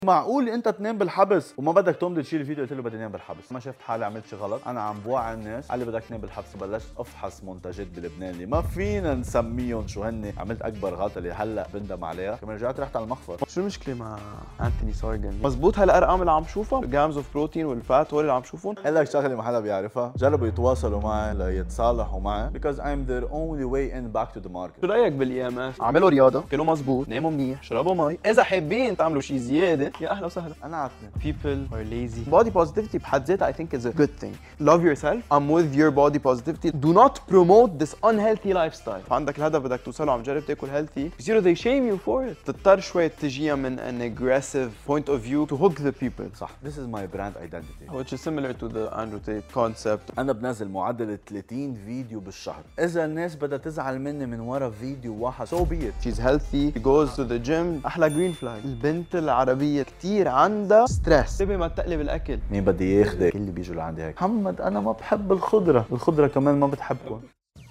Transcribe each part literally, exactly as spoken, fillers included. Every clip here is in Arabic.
معقول انت تنام بالحبس وما بدك تمضي تشيل الفيديو؟ قلت له بدي انام بالحبس. ما شفت حالي عملت شيء غلط، انا عم بوعي الناس. قال لي بدك تنام بالحبس. بلشت افحص منتجات بلبنان اللي ما فينا نسميهم شو هن. عملت اكبر غلطه اللي هلا بندم عليها. كمان رجعت رحت على المخفر. شو المشكله مع انتوني سورجن؟ مزبوط هالارقام اللي عم شوفها، جرامز اوف بروتين والفات هول اللي عم شوفهم. قال لك شغله ما حدا بيعرفها، جربوا يتواصلوا معي ليتصالحوا معي because I'm their only way in back to the market. شو رايك بالاي ام اف؟ اعملوا رياضه، كلوا مزبوط، ناموا منيح، شربوا مي، اذا حابين تعملوا شيء زياده يا اهلا وسهلا. انا عارفني. People are lazy. Body positivity بحد ذاتها I think is a good thing. Love yourself. I'm with your body positivity. Do not promote this unhealthy lifestyle. عندك الهدف بدك توصله، عم جرب تاكل healthy. بصيروا they shame you for it. تضطر شوي تجيها من an aggressive point of view to hook the people. صح. This is my brand identity. Which is similar to the Andrew Tate concept. انا بنزل معدل ثلاثين فيديو بالشهر. اذا الناس بدها تزعل مني من ورا فيديو واحد so be it. She's healthy. She goes to the gym. احلى green flag. البنت العربيه كثير عندها ستريس. انتبه ما تقلب الاكل. مين بدي ياخذك؟ اللي بيجوا لعندي هيك محمد انا ما بحب الخضره، الخضره كمان ما بتحبكم.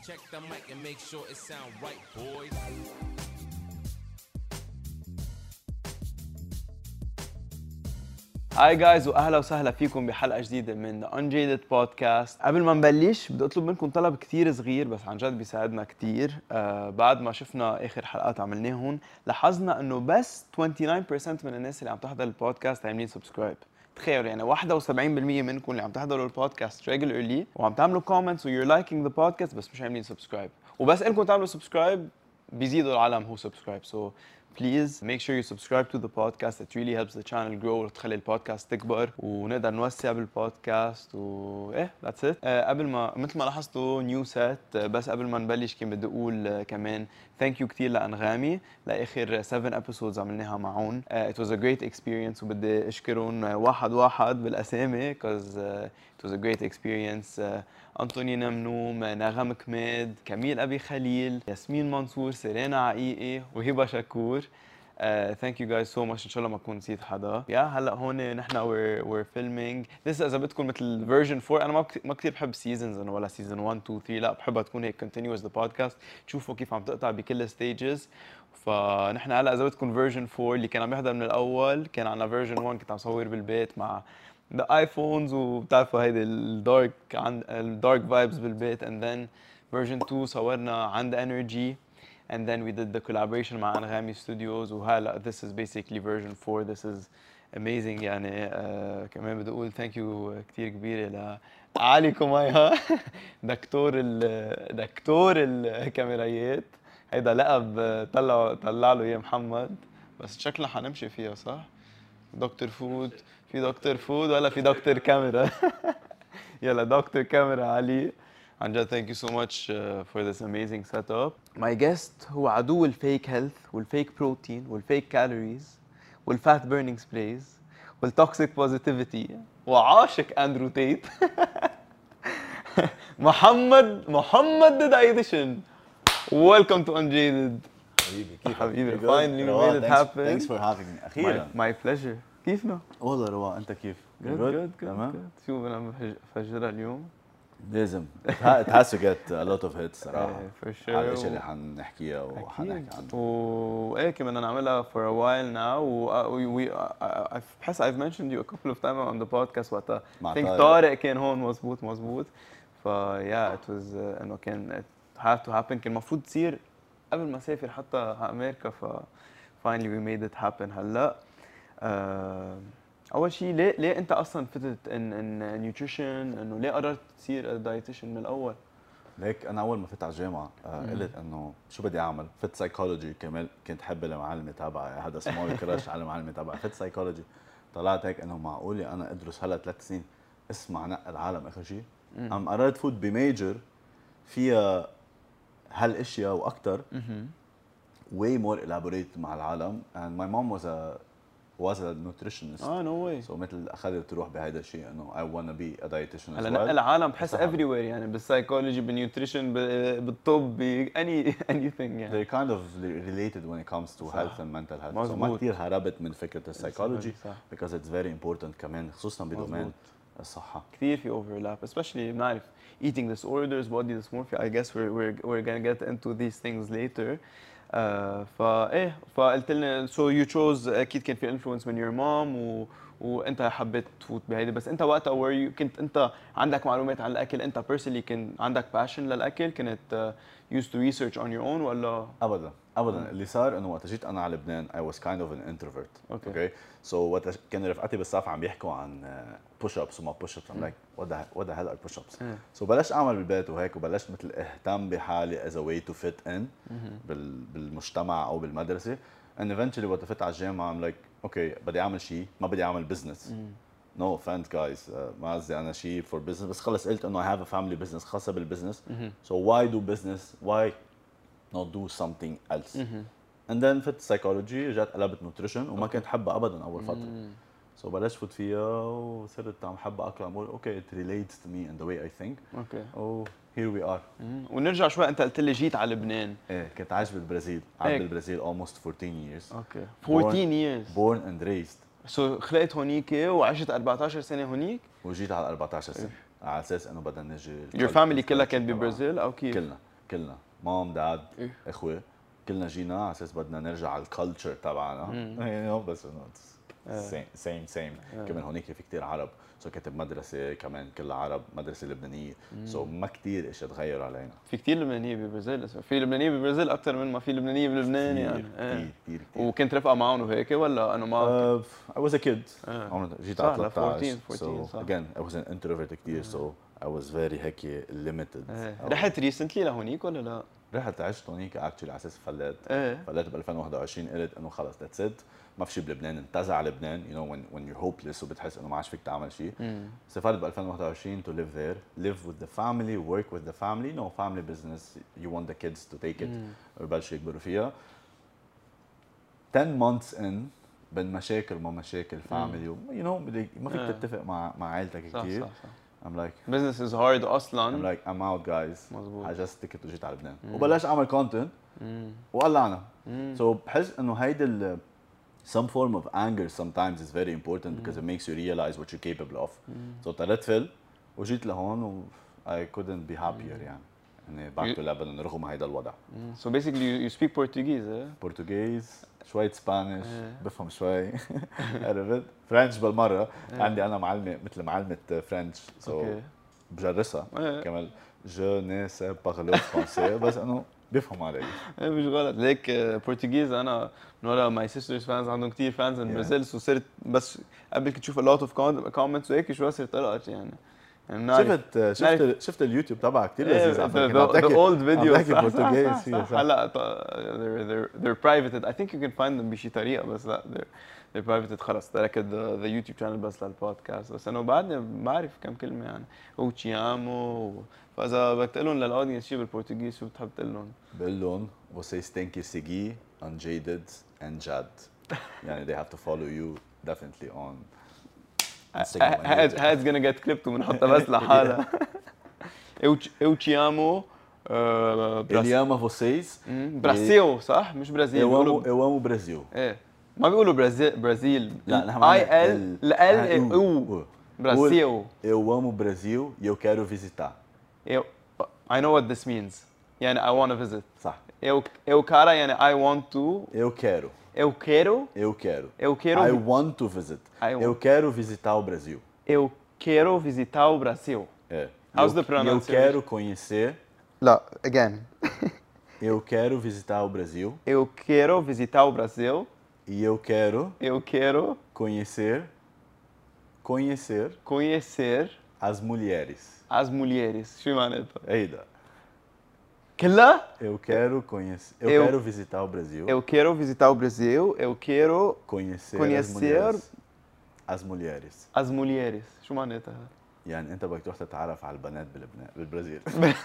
هاي جايز واهلا وسهلا فيكم بحلقه جديده من The Unjaded Podcast. قبل ما نبلش بدي اطلب منكم طلب كثير صغير بس عن جد بيساعدنا كثير. آه بعد ما شفنا اخر حلقات عملناهم لاحظنا انه بس تسعة وتسعين بالمية من الناس اللي عم تحضر البودكاست عاملين سبسكرايب. تخيلوا يعني واحد وسبعين بالمية منكم اللي عم تحضروا البودكاست regularly وعم تعملوا comments و you're liking the podcast بس مش عاملين سبسكرايب. وبس انكم تعملوا سبسكرايب بيزيدوا العالم هو سبسكرايب. so please make sure you subscribe to the podcast. It really helps the channel grow وتخلي البودكاست تكبر ونقدر نوسع بالبودكاست و ايه that's it. أه قبل ما مثل ما لاحظتوا نيو سيت. بس قبل ما نبلش كان بدي اقول uh, كمان thank you كثير لأنغامي لاخر seven episodes عملناها معهم. uh, it was a great experience وبدي اشكرهم واحد واحد بالاسامي because uh, it was a great experience. uh, أنطوني نمنوم، نغم كماد، كميل أبي خليل، ياسمين منصور، سيرينا عقيقي وهبة شكور. Uh, thank you guys so much. إن شاء الله ما أكون نسيت حدا. يا هلا هون نحن we're we're filming. لسه إذا بدكم مثل version four. أنا ما ما كثير بحب seasons إنه ولا season one two three. لا بحبها تكون هيك continuous the podcast. تشوفوا كيف عم تقطع بكل stages. فنحن هلا إذا بدكم version four اللي كان عم يحضر من الأول كان عنا version one كنت عم صور بالبيت مع الايفونز وبتعرفوا هيدي الدارك عند الدارك فايبز بالبيت. and then version two صورنا عند energy and then we did the collaboration مع انغامي ستوديوز. وهلا this is basically version four. this is amazing يعني. uh, كمان بدي اقول thank you كثير كبيره لعلي كومايا دكتور ال دكتور الكاميرايات. هيدا لقب طلع طلع له اياه محمد بس شكلنا حنمشي فيها صح. دكتور فود، في دكتور فود ولا في دكتور كاميرا؟ يلا دكتور كاميرا علي. عن جد thank you so much uh, for this amazing setup. My guest هو عدو الفيك هيلث والفيك بروتين والفيك كالوريز والفات بيرنينج سبرايز والتوكسيك بوزيتيفيتي وعاشق اندرو تيت. محمد محمد ذا ايديشن. Welcome to Unjaded. حبيبي كيف حبيبي finally we made it happen. Thanks for having me. أخيرا. My, my pleasure. كيفنا؟ والله رواق. أنت كيف؟ Good good good. تمام. شو بدنا نفجرها اليوم؟ لازم. It has to get a lot of hits صراحة. for sure. على الأشياء اللي حنحكيها وحنحكي عنها. وإيه كمان نعملها for a while now. و we بحس I've mentioned you a couple of times on the podcast وقتها. I think طارق كان هون مزبوط مزبوط. ف yeah it was uh, إنه كان it had to happen. كان المفروض تصير قبل ما أسافر حتى على أمريكا. ف finally we made it happen هلا. uh, اول شيء ليه ليه انت اصلا فتت ان ان نيوتريشن انه ليه قررت تصير دايتيشن من الاول؟ ليك انا اول ما فت على الجامعه آه قلت انه شو بدي اعمل. فت سايكولوجي كمان كنت حب المعلمه تبعي. هذا سمول كراش على المعلمه تبعي. فت سايكولوجي طلعت هيك انه معقوله انا ادرس هلا ثلاث سنين اسمع نق العالم اخر شيء. عم قررت فوت بميجر فيها هالاشياء واكثر way more elaborate مع العالم. and my mom was a was a nutritionist. اه نو واي. سو مثل اخذت تروح بهذا الشيء انه I wanna be a dietitian. هلا نقل العالم بحس everywhere يعني بالسايكولوجي بالنيوتريشن بالطب ب any anything يعني. They're kind of related when it comes to صح. health and mental health. مزبوط. so ما كثير هربت من فكرة السايكولوجي because it's very important كمان خصوصا بدومين الصحة. كثير في overlap especially بنعرف eating disorders body dysmorphia. I guess we're we're we're gonna get into these things later. آه فايه فقلت لنا سو يو تشوز اكيد كان في انفلونس من يور مام و وانت حبيت تفوت بهيدي. بس انت وقتها وير كنت انت عندك معلومات عن الاكل؟ انت بيرسونلي كان عندك باشن للاكل؟ كنت يوز تو ريسيرش اون يور اون ولا؟ ابدا ابدا. اللي صار انه وقت جيت انا على لبنان I was kind of an introvert. اوكي اوكي سو وقت كان رفقاتي بالصف عم بيحكوا عن بوش ابس وما بوش ابس I'm like what the what the hell are push ups. سو بلشت اعمل بالبيت وهيك، وبلشت مثل اهتم بحالي as a way to fit in بال بالمجتمع او بالمدرسه. and eventually وقت فت على الجامعه I'm like اوكي بدي اعمل شيء، ما بدي اعمل بزنس. نو offense guys uh, ما قصدي انا شيء for business، بس خلص قلت انه I have a family business خاصه بالبزنس. so why do business why not do something else. and then فت psychology، رجعت قلبت نوتريشن وما كنت حبها ابدا اول فتره. سو so بلشت فوت فيها وصرت عم حبها اكثر، عم بقول اوكي it relates to me and the way I think. اوكي oh here we are. ونرجع شوي، انت قلت لي جيت على لبنان. ايه كنت عايش بالبرازيل، قعدت بالبرازيل almost fourteen years. اوكي fourteen years born and raised. سو so, خلقت هونيك وعشت أربعتاشر سنه هونيك. وجيت على أربعتاشر سنه على اساس انه بدنا نجي. your family كلها كانت ببرازيل او كيف؟ كلنا كلنا مام داد اخوه كلنا جينا على اساس بدنا نرجع على الكالتشر تبعنا. بس انه سيم سيم سيم كمان هونيك في كثير عرب، سو كنت بمدرسه كمان كلها عرب، مدرسه لبنانيه. سو so ما كثير اشياء تغير علينا. في كثير لبنانيه ببرازيل، في لبنانيه ببرازيل اكثر من ما في لبنانيه بلبنان يعني. كثير كثير كثير. وكنت رفقه معهم وهيك ولا انا ما؟ uh, I was a kid. آه. جيت على ثلاثة عشر. fourteen fourteen so again I was an introvert كثير. so I was very هيك limited. آه. رحت ريسنتلي لهونيك ولا لا؟ رحت عشت هونيك اكشلي على اساس فليت. ايه فليت ب ألفين وواحد وعشرين، قلت انه خلص ذاتس ات، ما في شيء بلبنان، انتزع لبنان. you know when when you're hopeless وبتحس انه ما عادش فيك تعمل شيء. سافرت ب ألفين وواحد وعشرين to live there, live with the family, work with the family. no family business, you want the kids to take it ويبلشوا يكبروا فيها. ten months in بين مشاكل ما مشاكل family you know ما فيك تتفق مع مع عائلتك كثير. صح صح صح. I'm like business is hard اصلا. I'm like I'm out guys. مزبوط. I just ticket وجيت على لبنان وبلشت اعمل كونتنت وقلعنا. so بحس انه هيدي ال some form of anger sometimes is very important because it makes you realize what you're capable of. so طلعت فل وجيت لهون و I couldn't be happier يعني اني back to Lebanon رغم هيدا الوضع. so basically you, you speak Portuguese eh? Portuguese شوية سبانيش بفهم شوي. عرفت فرنش بالمرة. عندي أنا معلمة مثل معلمة فرنش سو بجرسها كمان. جو ني سي بارلو فرونسي بس إنه بيفهم علي. مش غلط ليك بورتوغيز. أنا من ورا ماي سيسترز فانز عندهم كثير فانز من برازيل. سو صرت بس قبل كنت تشوف a lot of comments وهيك شوي صرت طلعت يعني. شفت شفت شفت اليوتيوب تبعك كثير لذيذ. the old videos برتغالي فيه صح. هلا they're they're they're privated. I think you can find them بشي طريقه بس لا they're they're privated. خلص تركت the, the YouTube channel بس للبودكاست. بس انا بعدني بعرف كم كلمه يعني او تشيامو. فاذا بدك تقول لهم للاودينس شيء بالبرتغالي شو بتحب تقول لهم؟ بقول لهم vocês têm que seguir Unjaded and Jad. يعني they have to follow you definitely on هاد هاد's gonna get clipped وبنحطها بس لحالها. eu te amo. Eliama vocês. برازيل صح مش برازيل. eu amo eu amo Brasil. ايه ما بيقولوا برازيل برازيل. لا نحن اي ال ال او برازيل. eu amo Brasil e eu quero visitar. eu I know what this means. يعني I want to visit. صح. eu eu cara يعني I want to. eu quero. eu quero. eu quero. eu quero. I want to visit. eu quero visitar o Brasil. eu quero visitar o Brasil. É. How's the pronunciation? Eu quero conhecer. لا again. eu quero visitar o Brasil. eu quero visitar o Brasil. e eu quero. eu quero conhecer. conhecer. conhecer. as mulheres. as mulheres. شو معناتها؟ هيدا. كلها؟ eu quero conhecer. eu, eu quero visitar o Brasil. eu quero visitar o Brasil. eu quero conhecer. conhecer. as mulheres. as mulheres. شو معناتها؟ يعني انت بدك تروح تتعرف على البنات بلبنان بالبرازيل.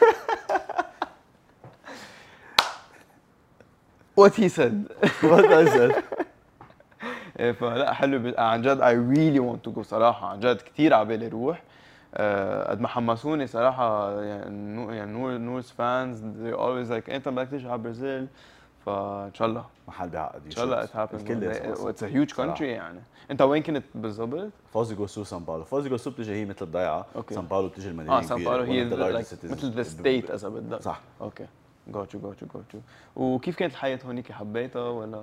what he said. what I said. فلا حلو عن جد. I really want to go صراحة عن جد كثير عبالي روح. قد ما حمسوني صراحة يعني يعني نور نور's fans they always like انت بدك تيجي على برازيل. فان شاء الله محل بيعقد ان شاء الله it happens. الكل it's a huge country يعني. انت وين كنت بالضبط؟ فوز غوسو سان باولو. فوز غوسو بتجي هي مثل الضيعه. سان باولو بتجي المدينه اه سان باولو هي مثل ذا ستيت اذا بدك. صح. اوكي جوتشو جوتشو جوتشو. وكيف كانت الحياه هونيك، حبيتها ولا؟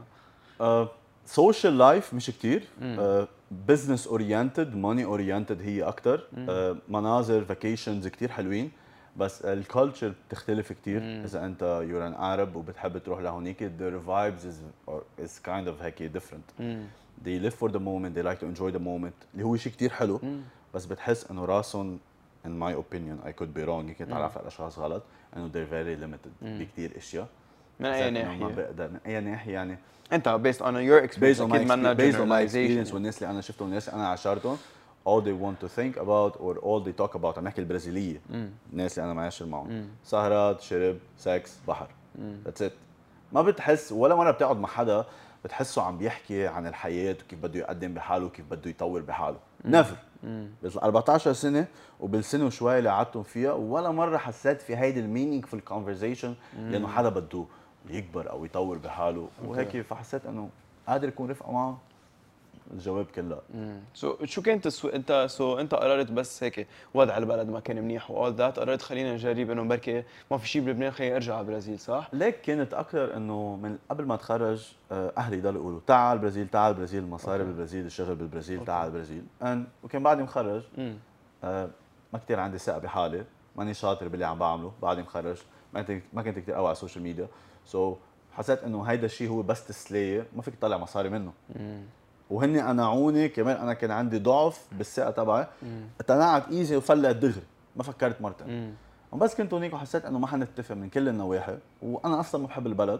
سوشيال لايف مش كتير، بزنس اورينتد ماني اورينتد هي اكثر. uh, مناظر فاكيشنز كتير حلوين، بس الكالتشر بتختلف كتير. مم. اذا انت يور ان عرب وبتحب تروح لهونيك their vibes is is kind of هيك different. مم. they live for the moment, they like to enjoy the moment اللي هو شيء كتير حلو. مم. بس بتحس انه راسهم in my opinion I could be wrong، يمكن تعرف على اشخاص غلط، انه they're very limited مم. بكتير اشياء. من اي ما ناحيه؟ بقدر من اي ناحيه يعني. انت based on your experience، based on my اكيد منا experience, based on my generalization experience والناس اللي انا شفتهم والناس اللي انا عاشرتهم all they want to think about or all they talk about. عم نحكي البرازيليه، مم. الناس اللي انا معاشر معهم، مم. سهرات، شرب، سكس، بحر، مم. ذاتس ات. ما بتحس ولا مره بتقعد مع حدا بتحسه عم بيحكي عن الحياه وكيف بده يقدم بحاله وكيف بده يطور بحاله. نيفر. بال أربعطعش سنه وبالسنه وشوي اللي قعدتهم فيها ولا مره حسيت في هيدي المينينغفul كونفرزيشن لانه حدا بده يكبر او يطور بحاله وهيك. فحسيت انه قادر يكون رفقه معه. الجواب كان لا. سو so, شو كانت السو... انت سو so, انت قررت بس هيك وضع البلد ما كان منيح واول ذات، قررت خلينا نجرب انه بركي ما في شيء بلبنان خليني ارجع على البرازيل، صح؟ ليك كانت اكثر انه من قبل ما اتخرج اهلي ضلوا يقولوا تعال البرازيل تعال البرازيل، المصاري بالبرازيل، الشغل بالبرازيل، تعال البرازيل. وكان بعدني مخرج آه ما كثير عندي ثقه بحالي، ماني شاطر باللي عم بعمله، بعدني مخرج، ما كنت ما كنت كثير قوي على السوشيال ميديا. سو so, حسيت انه هيدا الشيء هو بس تسليه ما فيك تطلع مصاري منه. مم. وهن قنعوني كمان، انا كان عندي ضعف بالثقه تبعي، اقتنعت ايزي وفلت دغري، ما فكرت مرتين. بس كنت هونيك وحسيت انه ما حنتفق من كل النواحي، وانا اصلا ما بحب البلد.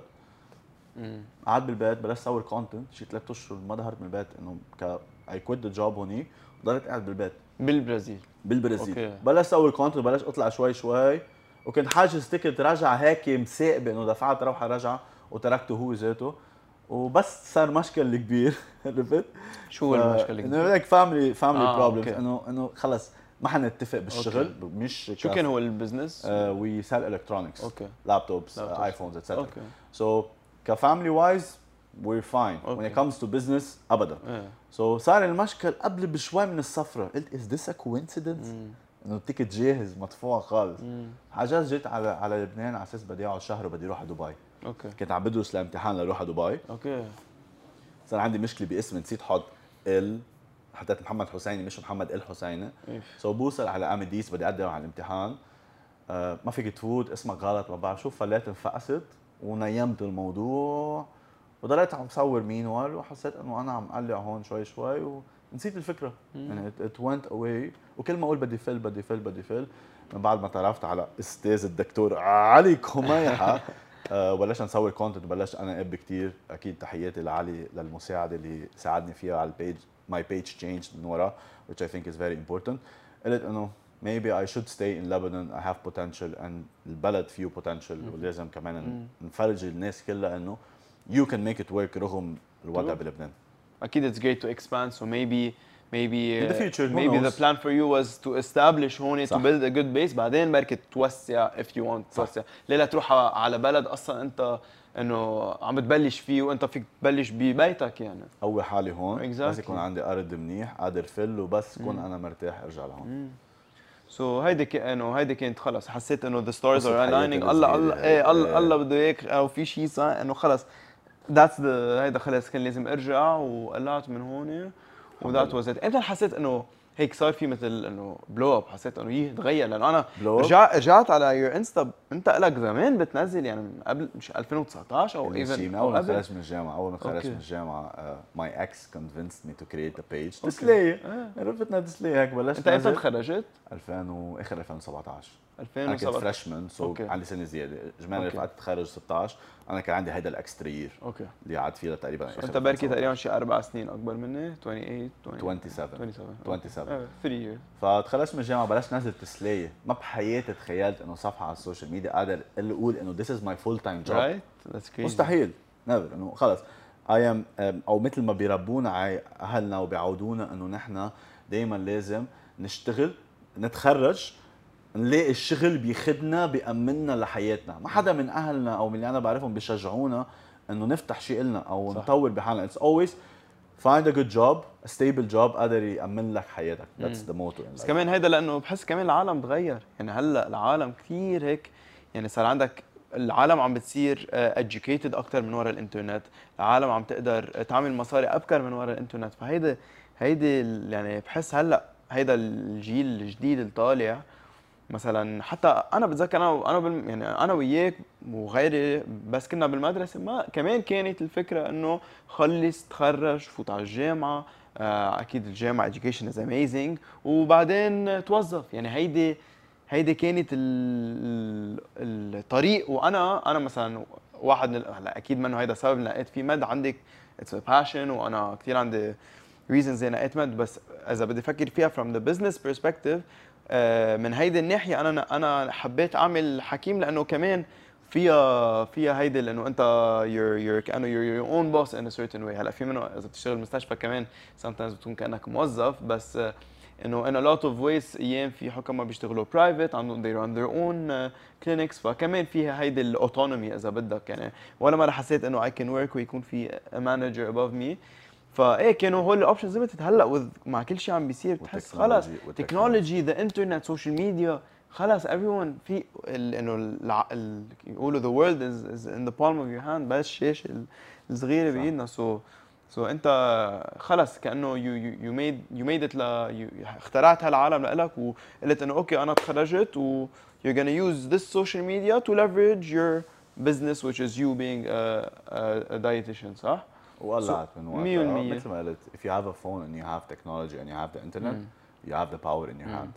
قعدت بالبيت بلشت اصور كونتنت شي ثلاث اشهر، ما ظهرت من البيت انه ك اي كويت ذا جوب هونيك، ضليت قاعد بالبيت بالبرازيل. بالبرازيل أوكي. بلشت اصور كونتنت، بلشت اطلع شوي شوي، وكنت حاجز تيكت رجعه هيك مساقبه انه دفعت روحه رجعه وتركته هو ذاته. وبس صار مشكل كبير. عرفت؟ شو هو المشكل الكبير؟ انه هيك فاميلي فاميلي بروبلمز، انه انه خلص ما حنتفق بالشغل. أوكي. مش شو كان هو البزنس؟ وي سيل الكترونكس، اوكي، لابتوبس، ايفونز اتسترا. سو كفاميلي وايز وير فاين، when it comes to business ابدا. سو so, صار المشكل قبل بشوي من السفره، قلت از ذس ا كوينسيدنس؟ انه التيكت جاهز مدفوع خالص. حجاز جيت على على لبنان على اساس بدي اقعد شهر وبدي اروح على دبي. اوكي. كنت عم بدرس لامتحان لروح على دبي. اوكي. صار عندي مشكله باسمي، نسيت حط ال، حطيت محمد حسيني مش محمد الحسيني. سو so بوصل على اميديس بدي اقدم على الامتحان، آه ما فيك تفوت، اسمك غلط، ما بعرف شو. فليت انفقست ونيمت الموضوع وضليت عم صور مينوال، وحسيت انه انا عم قلع هون شوي شوي ونسيت الفكره. يعني ات ونت اواي. وكل ما اقول بدي فل بدي فل بدي فل، من بعد ما تعرفت على استاذ الدكتور علي كميحه أه بلشنا نصور كونتنت وبلشت انا اب كثير. اكيد تحياتي لعلي للمساعده اللي ساعدني فيها على البيج. ماي بيج تشينج من ورا which I think is very important. قلت انه maybe I should stay in Lebanon, I have potential and البلد فيه potential، ولازم كمان نفرجي الناس كلها انه you can make it work رغم الوضع بلبنان. اكيد it's great to expand, so maybe maybe in the future who maybe knows? the plan for you was to establish هون to build a good base، بعدين بركي توسع if you want توسع. ليه لا تروح على بلد اصلا انت انه عم بتبلش فيه وانت فيك تبلش ببيتك يعني. قوي حالي هون exactly. بس يكون عندي ارض منيح قادر فل، وبس كون انا مرتاح ارجع لهون. سو so, هيدي ك... انه هيدي كانت خلص حسيت انه the stars are aligning. الله الله ايه الله الله بده اياك او في شيء صار انه خلص that's the هيدا خلص كان لازم ارجع وقلعت من هون وذات واز ات. امتى حسيت انه هيك صار في مثل انه بلو اب، حسيت انه يي تغير؟ لانه انا رجعت رجعت على يور انستا انت لك زمان بتنزل يعني من قبل مش ألفين وتسعطعش او ايفن اول ما خرجت من الجامعه. اول ما خرجت من الجامعه ماي اكس convinced me to create a page تسليه. عرفتنا تسليه هيك بلشت. انت امتى تخرجت؟ ألفين واخر ألفين وسبعطعش. ألفين وسبعطعش انا كنت فريشمان سو so عندي سنه زياده. اجمالي رفقات تخرج ستطعش، انا كان عندي هيدا الاكسترا يير اوكي اللي قعدت فيها تقريبا. انت بركي تقريبا شي اربع سنين اكبر مني. ثمانية وعشرين سبعة وعشرين سبعة ثلاثة years. فتخلصت من الجامعه بلشت نزل تسليه. ما بحياتي تخيلت انه صفحه على السوشيال ميديا قادر اقول انه this is my full time job. right that's crazy. مستحيل نيفر. انه خلص I am او مثل ما بيربونا اهلنا وبيعودونا انه نحن دائما لازم نشتغل نتخرج نلاقي الشغل بيخدنا بيأمننا لحياتنا. ما حدا من اهلنا او من اللي انا بعرفهم بيشجعونا انه نفتح شيء لنا او صح. نطور بحالنا. It's always find a good job, a stable job قادر يأمن لك حياتك. That's the motto. بس كمان هيدا لانه بحس كمان العالم تغير يعني. هلا العالم كثير هيك يعني صار عندك العالم عم بتصير educated اكثر من وراء الانترنت، العالم عم تقدر تعمل مصاري ابكر من وراء الانترنت. فهيدا هيدي يعني بحس هلا هيدا الجيل الجديد اللي طالع مثلا. حتى انا بتذكر انا انا بال يعني انا وياك وغيري بس كنا بالمدرسه ما كمان كانت الفكره انه خلص تخرج فوت على الجامعه. آه، اكيد الجامعه education is amazing وبعدين توظف. يعني هيدي هيدي كانت ال- ال- الطريق. وانا انا مثلا واحد من هلا اكيد منه هيدا سبب لقيت في مد عندك اتس passion وانا كثير عندي reasons زي لقيت مد. بس اذا بدي افكر فيها from the business perspective آه، من هيدي الناحيه انا انا حبيت اعمل حكيم لانه كمان فيها فيها هيدي لانه انت you're you're كانه you're your own boss in a certain way. هلا في منه اذا بتشتغل مستشفى كمان sometimes بتكون كانك موظف. بس آه، انه in a lot of ways ايام في حكماء بيشتغلوا برايفت عندهم they run their own uh, clinics. فكمان فيها هيدي الاوتونومي اذا بدك. يعني ولا مره حسيت انه I can work ويكون في a manager above me. فايه كانوا هول الاوبشنز ليميتد. هلا with- مع كل شيء عم بيصير بتحس خلص والتكنولوجي- تكنولوجي ذا انترنت سوشيال ميديا خلص everyone في ال- انه الع- ال- يقولوا the world is, is in the palm of your hand. بس الشاشه الصغيره صح. بايدنا. سو سو انت خلص كانه you you you made you made it ل you اخترعت هالعالم لإلك وقلت انه اوكي انا تخرجت و you're gonna use this social media to leverage your business which is you being a, a, a dietitian. صح؟ وقلعت من مية وقتها بالمية. مثل ما قلت if you have a phone and you have technology and you have the internet you have the power in your مم. hands.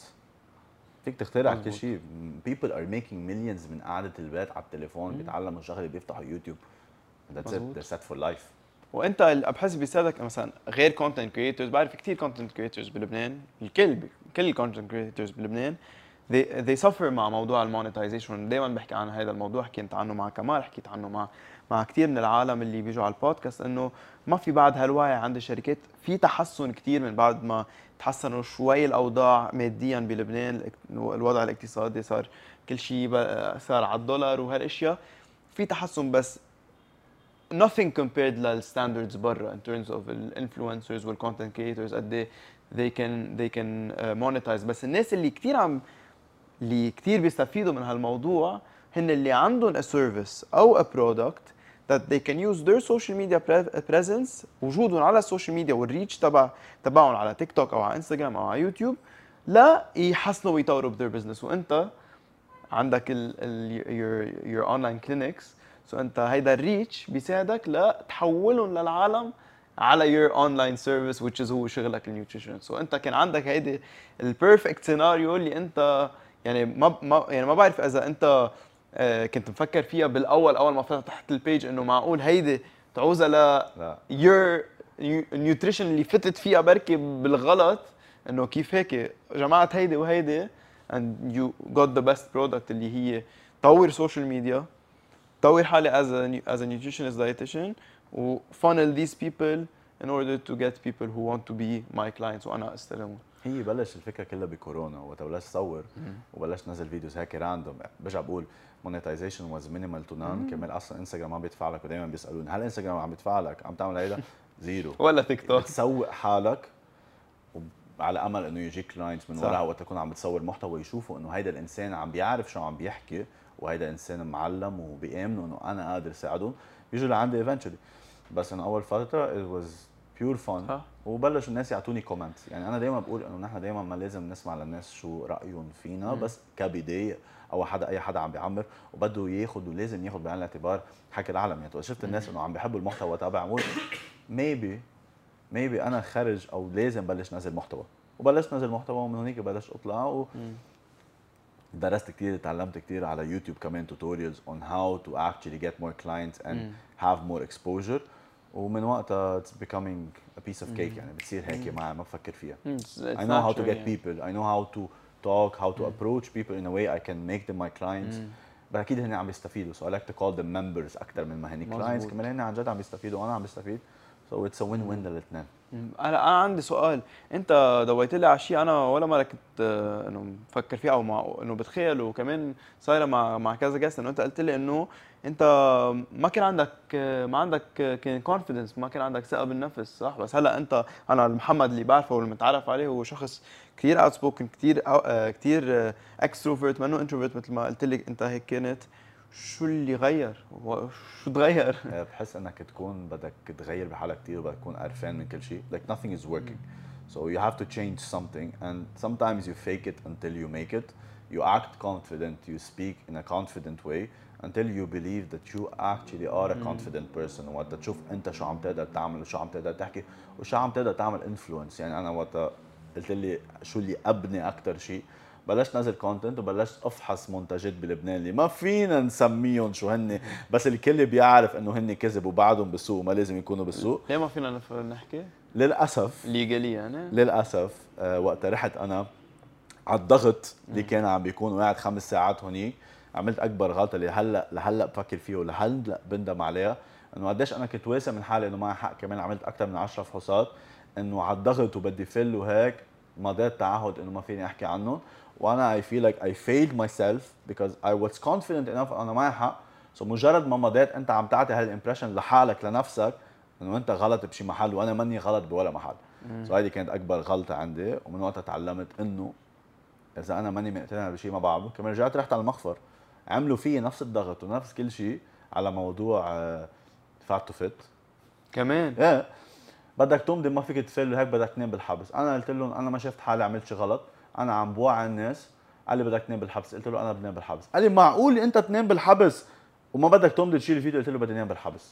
فيك تخترع كل مظبوط. شيء. people are making millions من قعدة البيت على التليفون مم. بيتعلموا شغله بيفتحوا يوتيوب. that's it مظبوط. they're set for life. وانت ال- بحس بيساعدك مثلا غير كونتنت كريتورز. بعرف كثير كونتنت كريتورز بلبنان. الكل كل الكونتنت كريتورز بلبنان they they suffer مع موضوع المونيتايزيشن. دائما بحكي عن هذا الموضوع. حكيت عنه مع كمال حكيت عنه مع مع كثير من العالم اللي بيجوا على البودكاست انه ما في بعد هالوعي عند الشركات. في تحسن كثير من بعد ما تحسنوا شوي الاوضاع ماديا بلبنان. الوضع الاقتصادي صار كل شيء بقى- صار على الدولار وهالاشياء. في تحسن بس nothing compared للستاندردز برا in terms of الانفلونسرز والكونتنت كريتورز قد ايه they can they can uh, monetize. بس الناس اللي كثير عم اللي كثير بيستفيدوا من هالموضوع هن اللي عندهم a service او a product that they can use their social media pre- presence وجودهم على السوشيال ميديا والريتش تبع تبعهم على تيك توك او على انستغرام او على يوتيوب لا يحسنوا ويطوروا بذير بزنس. وانت عندك ال ال your your online clinics. سو so انت هيدا الريتش بيساعدك لتحولهم للعالم على your online service which is هو شغلك النيوتريشن. سو so انت كان عندك هيدي البيرفكت سيناريو اللي انت يعني ما ما يعني ما بعرف اذا انت آه، كنت مفكر فيها بالاول اول ما فتحت البيج انه معقول هيدي تعوزها ل لا your nutrition اللي فتت فيها بركي بالغلط انه كيف هيك جمعت هيدي وهيدي and you got the best product اللي هي طور سوشيال ميديا طور حالي as a as a nutritionist dietitian و funnel these people in order to get people who want to be my clients وانا استلمهم. هي بلش الفكره كلها بكورونا وقت بلش صور وبلش نزل فيديوز هيك راندوم. برجع بقول monetization was minimal to none. كمان اصلا انستغرام ما بيدفع لك ودائما بيسالوني هل انستغرام عم بيدفع لك عم تعمل هيدا؟ زيرو. ولا تيك توك. بتسوق حالك على امل انه يجيك كلاينتس من صح. وراها وقت تكون عم بتصور محتوى يشوفوا انه هيدا الانسان عم بيعرف شو عم بيحكي وهيدا انسان معلم وبيامنوا انه انا قادر ساعدهم بيجوا لعندي eventually. بس انه اول فتره it was pure fun. صح. وبلشوا الناس يعطوني كومنت. يعني انا دائما بقول انه نحن دائما ما لازم نسمع للناس شو رايهم فينا مم. بس كبدايه او حدا اي حدا عم بيعمر وبده ياخذ ولازم ياخذ بعين الاعتبار حكي العالم. يعني شفت الناس انه عم بيحبوا المحتوى تبعي بقول ميبي ميبي انا خرج او لازم بلش نزل محتوى. وبلشت نزل محتوى ومن هونيك بلشت اطلع و درست كثير تعلمت كثير على يوتيوب كمان توتوريالز on how to actually get more clients and مم. have more exposure. ومن وقتها it's becoming a piece of cake. يعني بتصير هيك ما ما بفكر فيها. I know how to get people. I know how to talk, how to approach people in a way I can make them my clients. بس اكيد هن عم بيستفيدوا. So I like to call them members اكثر من ما هن clients. كمان هن عن جد عم بيستفيدوا وانا عم بستفيد. So it's a win-win للاثنين. انا انا عندي سؤال. انت ضويت لي على شيء انا ولا مره كنت آه، انه مفكر فيه او مع انه بتخيل وكمان صايره مع مع كذا جاست انه انت قلت لي انه انت ما كان عندك آه، ما عندك آه، كان كونفيدنس ما كان عندك ثقه بالنفس صح. بس هلا انت انا محمد اللي بعرفه واللي متعرف عليه هو شخص كثير اوت سبوكن كثير كثير اكستروفيرت منه انتروفيرت مثل ما قلت لك انت هيك كانت شو اللي غير؟ شو تغير؟ بحس انك تكون بدك تغير بحالك كثير وبدك تكون قرفان من كل شيء. Like nothing is working. So you have to change something and sometimes you fake it until you make it. You act confident, you speak in a confident way until you believe that you actually are a confident person. وقت تشوف انت شو عم تقدر تعمل وشو عم تقدر تحكي وشو عم تقدر تعمل influence. يعني انا وقت قلت لي شو اللي ابني اكثر شيء، بلشت نزل كونتنت وبلشت افحص منتجات بلبنان اللي ما فينا نسميهم شو هن، بس الكل بيعرف انه هن كذب وبعدهم بالسوق وما لازم يكونوا بالسوق. ليه ما فينا نحكي؟ للاسف ليجالي يعني للاسف آه وقت رحت انا على الضغط اللي كان عم بيكون قاعد خمس ساعات هونيك، عملت اكبر غلطه اللي هلا لهلا بفكر فيه ولهلا بندم عليها، انه قديش انا كنت واثق من حالي انه معي حق. كمان عملت اكثر من عشرة فحوصات انه على الضغط وبدي فل وهيك مضيت تعهد انه ما فيني احكي عنهم. وانا I feel like I failed myself because I was confident enough انا معي حق. سو so مجرد ما مضيت انت عم تعطي هالامبريشن لحالك لنفسك انه انت غلط بشي محل وانا ماني غلط بولا محل. سو so هيدي كانت اكبر غلطه عندي، ومن وقتها تعلمت انه اذا انا ماني مقتنع بشيء ما بعمله. كمان رجعت رحت على المخفر عملوا فيي نفس الضغط ونفس كل شيء على موضوع فات تو فيت كمان. ايه بدك تمضي ما فيك تفل هيك بدك تنام بالحبس. انا قلت لهم انا ما شفت حالي عملت شيء غلط، انا عم بوعي الناس. قال لي بدك تنام بالحبس، قلت له انا بنام بالحبس. قال لي معقول انت تنام بالحبس وما بدك تمضي تشيل الفيديو؟ قلت له بدي انام بالحبس.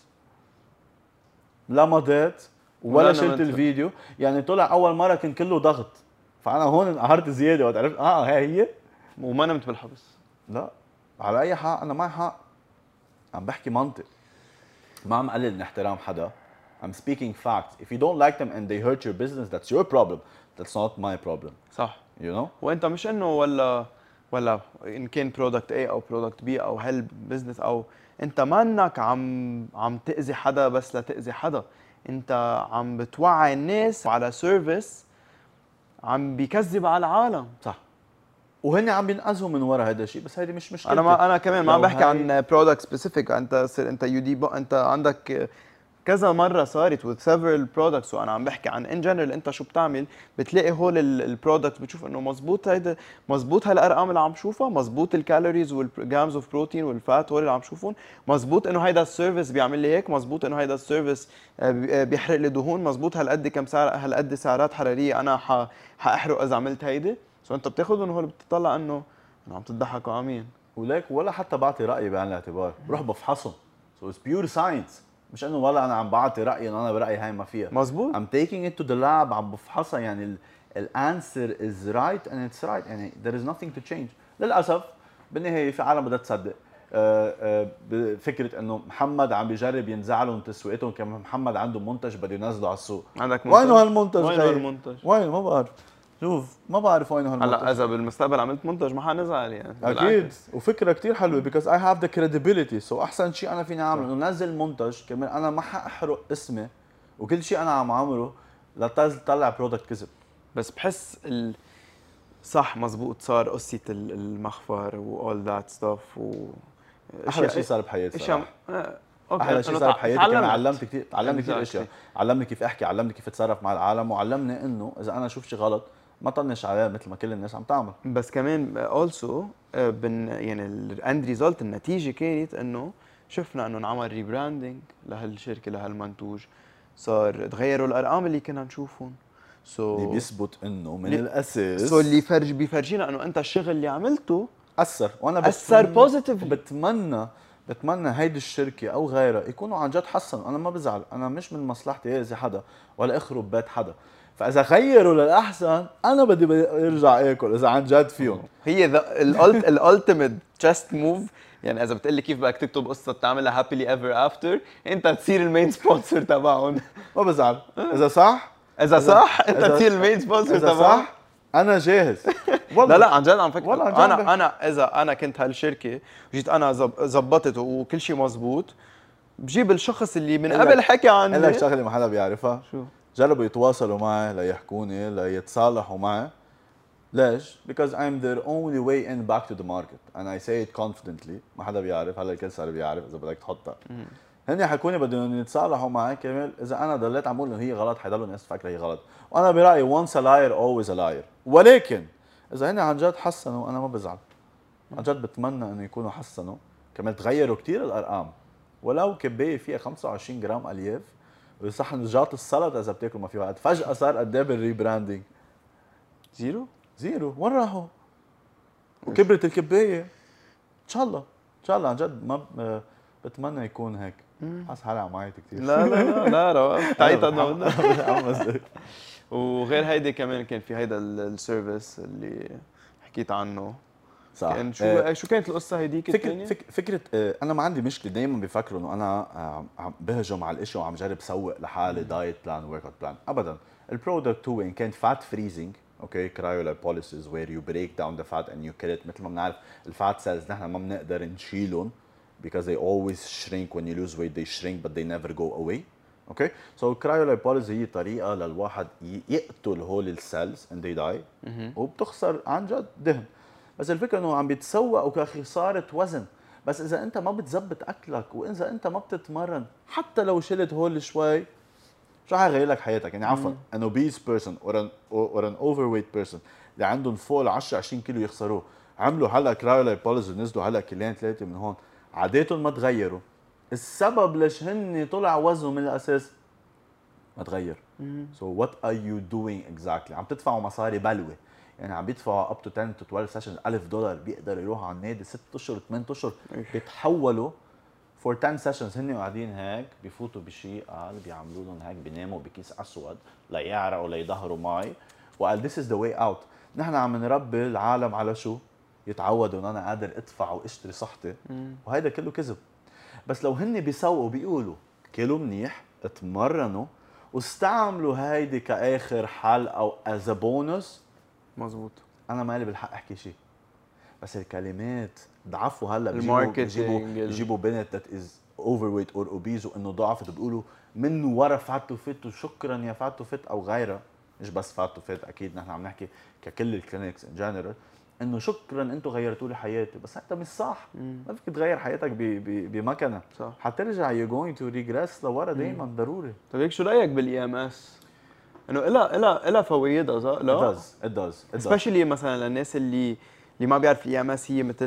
لا مضيت ولا شلت الفيديو. يعني طلع اول مره كان كله ضغط، فانا هون انقهرت زياده وقت عرفت اه هي هي وما نمت بالحبس. لا على اي حق انا معي حق، عم بحكي منطق، ما عم قلل من احترام حدا. I'm speaking facts. If you don't like them and they hurt your business, that's your problem. That's not my problem. صح. You know? وانت مش انه ولا ولا ان كان برودكت A او برودكت B او هيل بزنس او انت مانك عم عم تاذي حدا بس لتاذي حدا، انت عم بتوعي الناس على سيرفيس عم بيكذب على العالم. صح. وهن عم بينقذوا من ورا هذا الشيء، بس هيدي مش مشكلتي. انا ما انا كمان ما عم بحكي هاي... عن برودكت سبيسيفيك. انت سر انت يو دي انت عندك كذا مره صارت with several products، وانا عم بحكي عن ان جنرال. انت شو بتعمل بتلاقي هول البرودكت بتشوف انه مزبوط هيدا مزبوط هالارقام اللي عم شوفها، مزبوط الكالوريز والجرامز اوف بروتين والفات هول اللي عم شوفهم، مزبوط انه هيدا السيرفيس بيعمل لي هيك، مزبوط انه هيدا السيرفيس بيحرق لي دهون، مزبوط هالقد كم سعر هالقد سعرات حراريه انا ح... حاحرق اذا عملت هيدي. سو انت بتاخذهم هول بتطلع انه عم تضحكوا عمين وليك ولا حتى بعطي رايي بعين الاعتبار، بروح بفحصهم. سو اتس بيور ساينس، مش انه والله انا عم بعطي رايي انه انا برايي هاي ما فيها. مزبوط. I'm taking it to the lab عم بفحصها. يعني الانسر از رايت and it's right. يعني there is nothing to change. للاسف بالنهايه في عالم بدها تصدق بفكره انه محمد عم بيجرب ينزع لهم تسويقتهم، كمان محمد عنده منتج بده ينزله على السوق. عندك منتج؟ وينه هالمنتج؟ وينه هالمنتج؟ وين ما بعرف. شوف ما بعرف وينه هالمنتج. هلا اذا بالمستقبل عملت منتج ما حنزعل يعني. اكيد. وفكره كثير حلوه because I have the credibility. سو so احسن شيء انا فيني اعمله انه نزل منتج كمان انا ما حاحرق اسمي وكل شيء انا عم اعمله لطلع برودكت كذب. بس بحس ال... صح مزبوط صار قصه المخفر و all that stuff و احلى شيء صار بحياتي صراحه. اوكي احلى شيء صار بحياتي كمان علمت كثير، علمني كثير اشياء، علمني كيف احكي، علمني كيف اتصرف مع العالم، وعلمني انه اذا انا اشوف شيء غلط ما طنش عليه مثل ما كل الناس عم تعمل. بس كمان اولسو بن يعني الاند ريزلت النتيجه كانت انه شفنا انه انعمل ريبراندنج لهالشركه لهالمنتوج، صار تغيروا الارقام اللي كنا نشوفهم. سو so اللي بيثبت انه من الاساس سو so اللي فرج بيفرجينا انه انت الشغل اللي عملته اثر. وانا اثر بوزيتيف. بتمنى بتمنى هيدي الشركه او غيرها يكونوا عن جد حسنوا. انا ما بزعل، انا مش من مصلحتي اذي حدا ولا اخرب بيت حدا، فاذا غيروا للاحسن انا بدي ارجع اكل اذا عن جد فيهم. هي الالتيميت جاست موف. يعني اذا بتقلي كيف بدك تكتب قصه تعملها هابيلي ايفر افتر، انت تصير المين سبونسر تبعهم. ما بزعل اذا صح، اذا صح انت تصير المين سبونسر تبعهم. اذا صح انا جاهز. والله لا لا عن جد عم فكر. والله انا انا اذا انا كنت هالشركه وجيت انا زبطت وكل شيء مزبوط، بجيب الشخص اللي من قبل حكى عني. قال لك شغله ما حدا بيعرفها. شو؟ جربوا يتواصلوا معي ليحكوني ليتصالحوا معي. ليش؟ because I'm their only way in back to the market and I say it confidently. ما حدا بيعرف، هلا الكل صار بيعرف اذا بدك تحطها. هن حكوني بدهم يتصالحوا معي كمان. اذا انا ضليت عم بقول انه هي غلط حيضلوا الناس تفكر هي غلط، وانا برايي once a liar always a liar. ولكن اذا هن عن جد حسنوا انا ما بزعل. عن جد بتمنى انه يكونوا حسنوا كمان تغيروا كتير الارقام، ولو كبايه فيها خمسة وعشرين جرام الياف وصحن جات السلطه اذا بتاكل ما في وقت، فجاه صار قد ايه بالريبراندنج؟ زيرو زيرو. وين راحوا؟ وكبرت الكبايه. ان شاء الله ان شاء الله عن جد ما ب... بتمنى يكون هيك. حاسس حالي عم عيط كثير. لا لا لا لا روقت تعيط انا متحمس. وغير هيدي كمان كان في هيدا السيرفيس اللي حكيت عنه. صح. كان شو آه شو كانت القصه هيديك فكرة الثانيه؟ فك فكرة آه انا ما عندي مشكله، دائما بيفكروا انه انا آه عم بهجم على الاشي وعم جرب سوق لحالي دايت بلان ورك اوت بلان، ابدا. البرودكت هو ان كان فات فريزنج، اوكي، كرايولايبوليسيس وير يو بريك داون ذا فات اند يو كيل ات. مثل ما بنعرف الفات سيلز نحن ما بنقدر نشيلهم because they always shrink when you lose weight, they shrink but they never go away. اوكي، سو الكرايولايبوليسيس هي طريقه للواحد يقتل هول السيلز and they die وبتخسر عن جد دهن. بس الفكره انه عم بيتسوقوا كخساره وزن، بس اذا انت ما بتزبط اكلك واذا انت ما بتتمرن حتى لو شلت هول شوي شو حيغير لك حياتك؟ يعني عفوا an obese person or an or an overweight person اللي عندهم فوق عشرة عشرين كيلو يخسروه، عملوا هلا كرايولايبوليسيس ونزلوا هلا كيلين ثلاثه من هون، عاداتهم ما تغيروا. السبب ليش هن طلع وزنهم من الاساس ما تغير. سو وات ار يو دوينج اكزاكتلي؟ عم تدفعوا مصاري بلوه، يعني عم بيدفعوا اب تو عشرة تو اثناشر سيشن ألف دولار، بيقدروا يروحوا على النادي ست اشهر ثمان اشهر بيتحولوا فور عشرة سيشنز. هن قاعدين هيك بفوتوا بشيء قال بيعملوا لهم هيك، بيناموا بكيس اسود ليعرقوا ليظهروا مي، وقال ذيس از ذا واي اوت. نحن عم نربي العالم على شو؟ يتعودوا ان انا قادر ادفع واشتري صحتي، وهيدا كله كذب. بس لو هن بيسوقوا بيقولوا كلوا منيح، اتمرنوا، واستعملوا هيدي كاخر حل او از بونس، مزبوط. انا مالي بالحق احكي شيء. بس الكلمات ضعفوا هلا الماركتينج بيجيبوا بيجيبوا بنت ذات از اوفر ويت اور اوبيز وانه ضعفت، بيقولوا من ورا فات وفت وشكرا يا فات وفت او غيرها. مش بس فات وفت، اكيد نحن عم نحكي ككل الكلينكس ان جنرال انه شكرا انتم غيرتوا لي حياتي، بس هذا مش صح. مم. ما فيك تغير حياتك بمكنه، صح. حترجع يو جوينج تو ريجريس لورا دائما ضروري. طيب هيك شو رايك بالاي ام اس؟ انه لها لها لها فوائدها صح؟ لا it does it does سبيشلي مثلا للناس اللي اللي ما بيعرف الاي ام اس هي مثل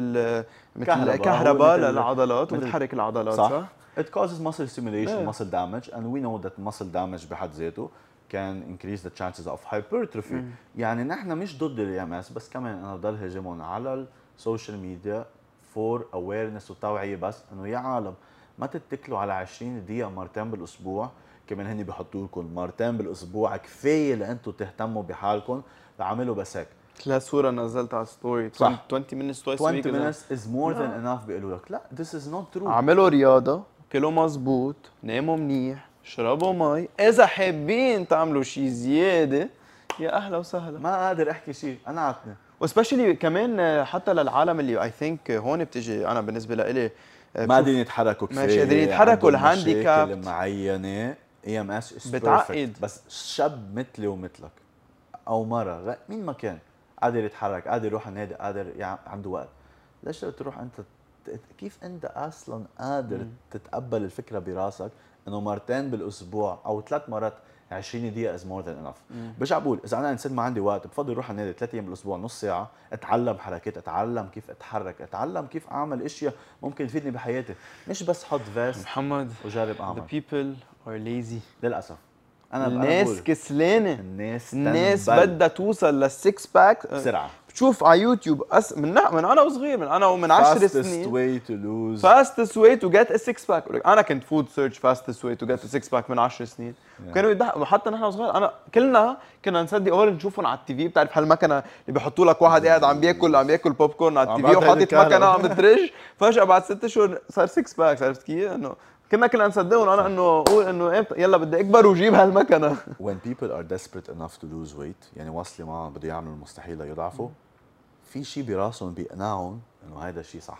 مثل كهرباء للعضلات وبتحرك العضلات، صح؟ صح؟ It causes muscle stimulation, yeah. muscle damage, and we know that muscle damage بحد ذاته can increase the chances of hypertrophy. مم. يعني نحن مش ضد الاي ام اس، بس كمان انا ضل هجمون على السوشيال ميديا فور اويرنس وتوعيه، بس انه يا عالم ما تتكلوا على عشرين دقيقه مرتين بالاسبوع. كمان هني بحطوا لكم مرتين بالاسبوع كفايه لانتم تهتموا بحالكم، تعملوا بس هيك. لا صوره نزلت على ستوري صح عشرين minutes twice a week عشرين minutes is more than enough. بيقولوا لك لا this is not true. اعملوا رياضه، كلوا مزبوط، ناموا منيح، اشربوا مي، اذا حابين تعملوا شيء زياده يا اهلا وسهلا. ما قادر احكي شيء، انا عتني. وسبيشلي كمان حتى للعالم اللي اي ثينك هون بتجي، انا بالنسبه لإلي ما قادرين يتحركوا كفايه، مش قادرين يتحركوا، الهانديكاب معينه. اي ام اس بتعقد. بس شاب مثلي ومثلك او مره مين ما كان قادر يتحرك، قادر يروح النادي، قادر يعني عنده وقت، ليش تروح انت؟ كيف انت اصلا قادر م. تتقبل الفكره براسك انه مرتين بالاسبوع او ثلاث مرات عشرين دقيقه از مور ذان انف؟ برجع بقول اذا انا انسان ما عندي وقت بفضل اروح النادي ثلاث ايام بالاسبوع نص ساعه، اتعلم حركات، اتعلم كيف اتحرك، اتعلم كيف اعمل اشياء ممكن تفيدني بحياتي، مش بس حط فيست محمد وجرب اعمل. the people are lazy للاسف. انا الناس كسلانه، الناس الناس بدها توصل للسكس باك بسرعه. بتشوف على يوتيوب أس... من من انا وصغير، من انا ومن عشر سنين fastest way to lose fastest way to get a six pack. انا كنت فود سيرش fastest way to get a six pack من عشر سنين، yeah. كانوا يضحكوا حتى نحن صغار. انا كلنا كنا نصدق اول نشوفهم على التي في، بتعرف هالمكنه اللي بيحطوا لك واحد قاعد عم بياكل عم بياكل بوب كورن على التي في وحاطط مكنه عم بترج، فجاه بعد ست شهور صار سكس باك. عرفت كيف؟ انه كنا كنا نصدقهم. انا انه اقول انه امتى يلا بدي اكبر وجيب هالمكنه. when people are desperate enough to lose weight، يعني واصلين معهم بده يعملوا المستحيل ليضعفوا، في شيء براسهم بيقنعهم انه هذا الشيء صح،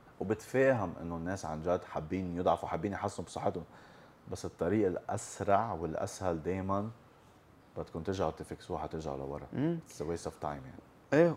وبتفاهم انه الناس عن جد حابين يضعفوا، حابين يحسنوا بصحتهم، بس الطريق الاسرع والاسهل دائما بدكم ترجعوا تفكسوها، حترجعوا لورا. اتس ويست اوف تايم يعني. ايه.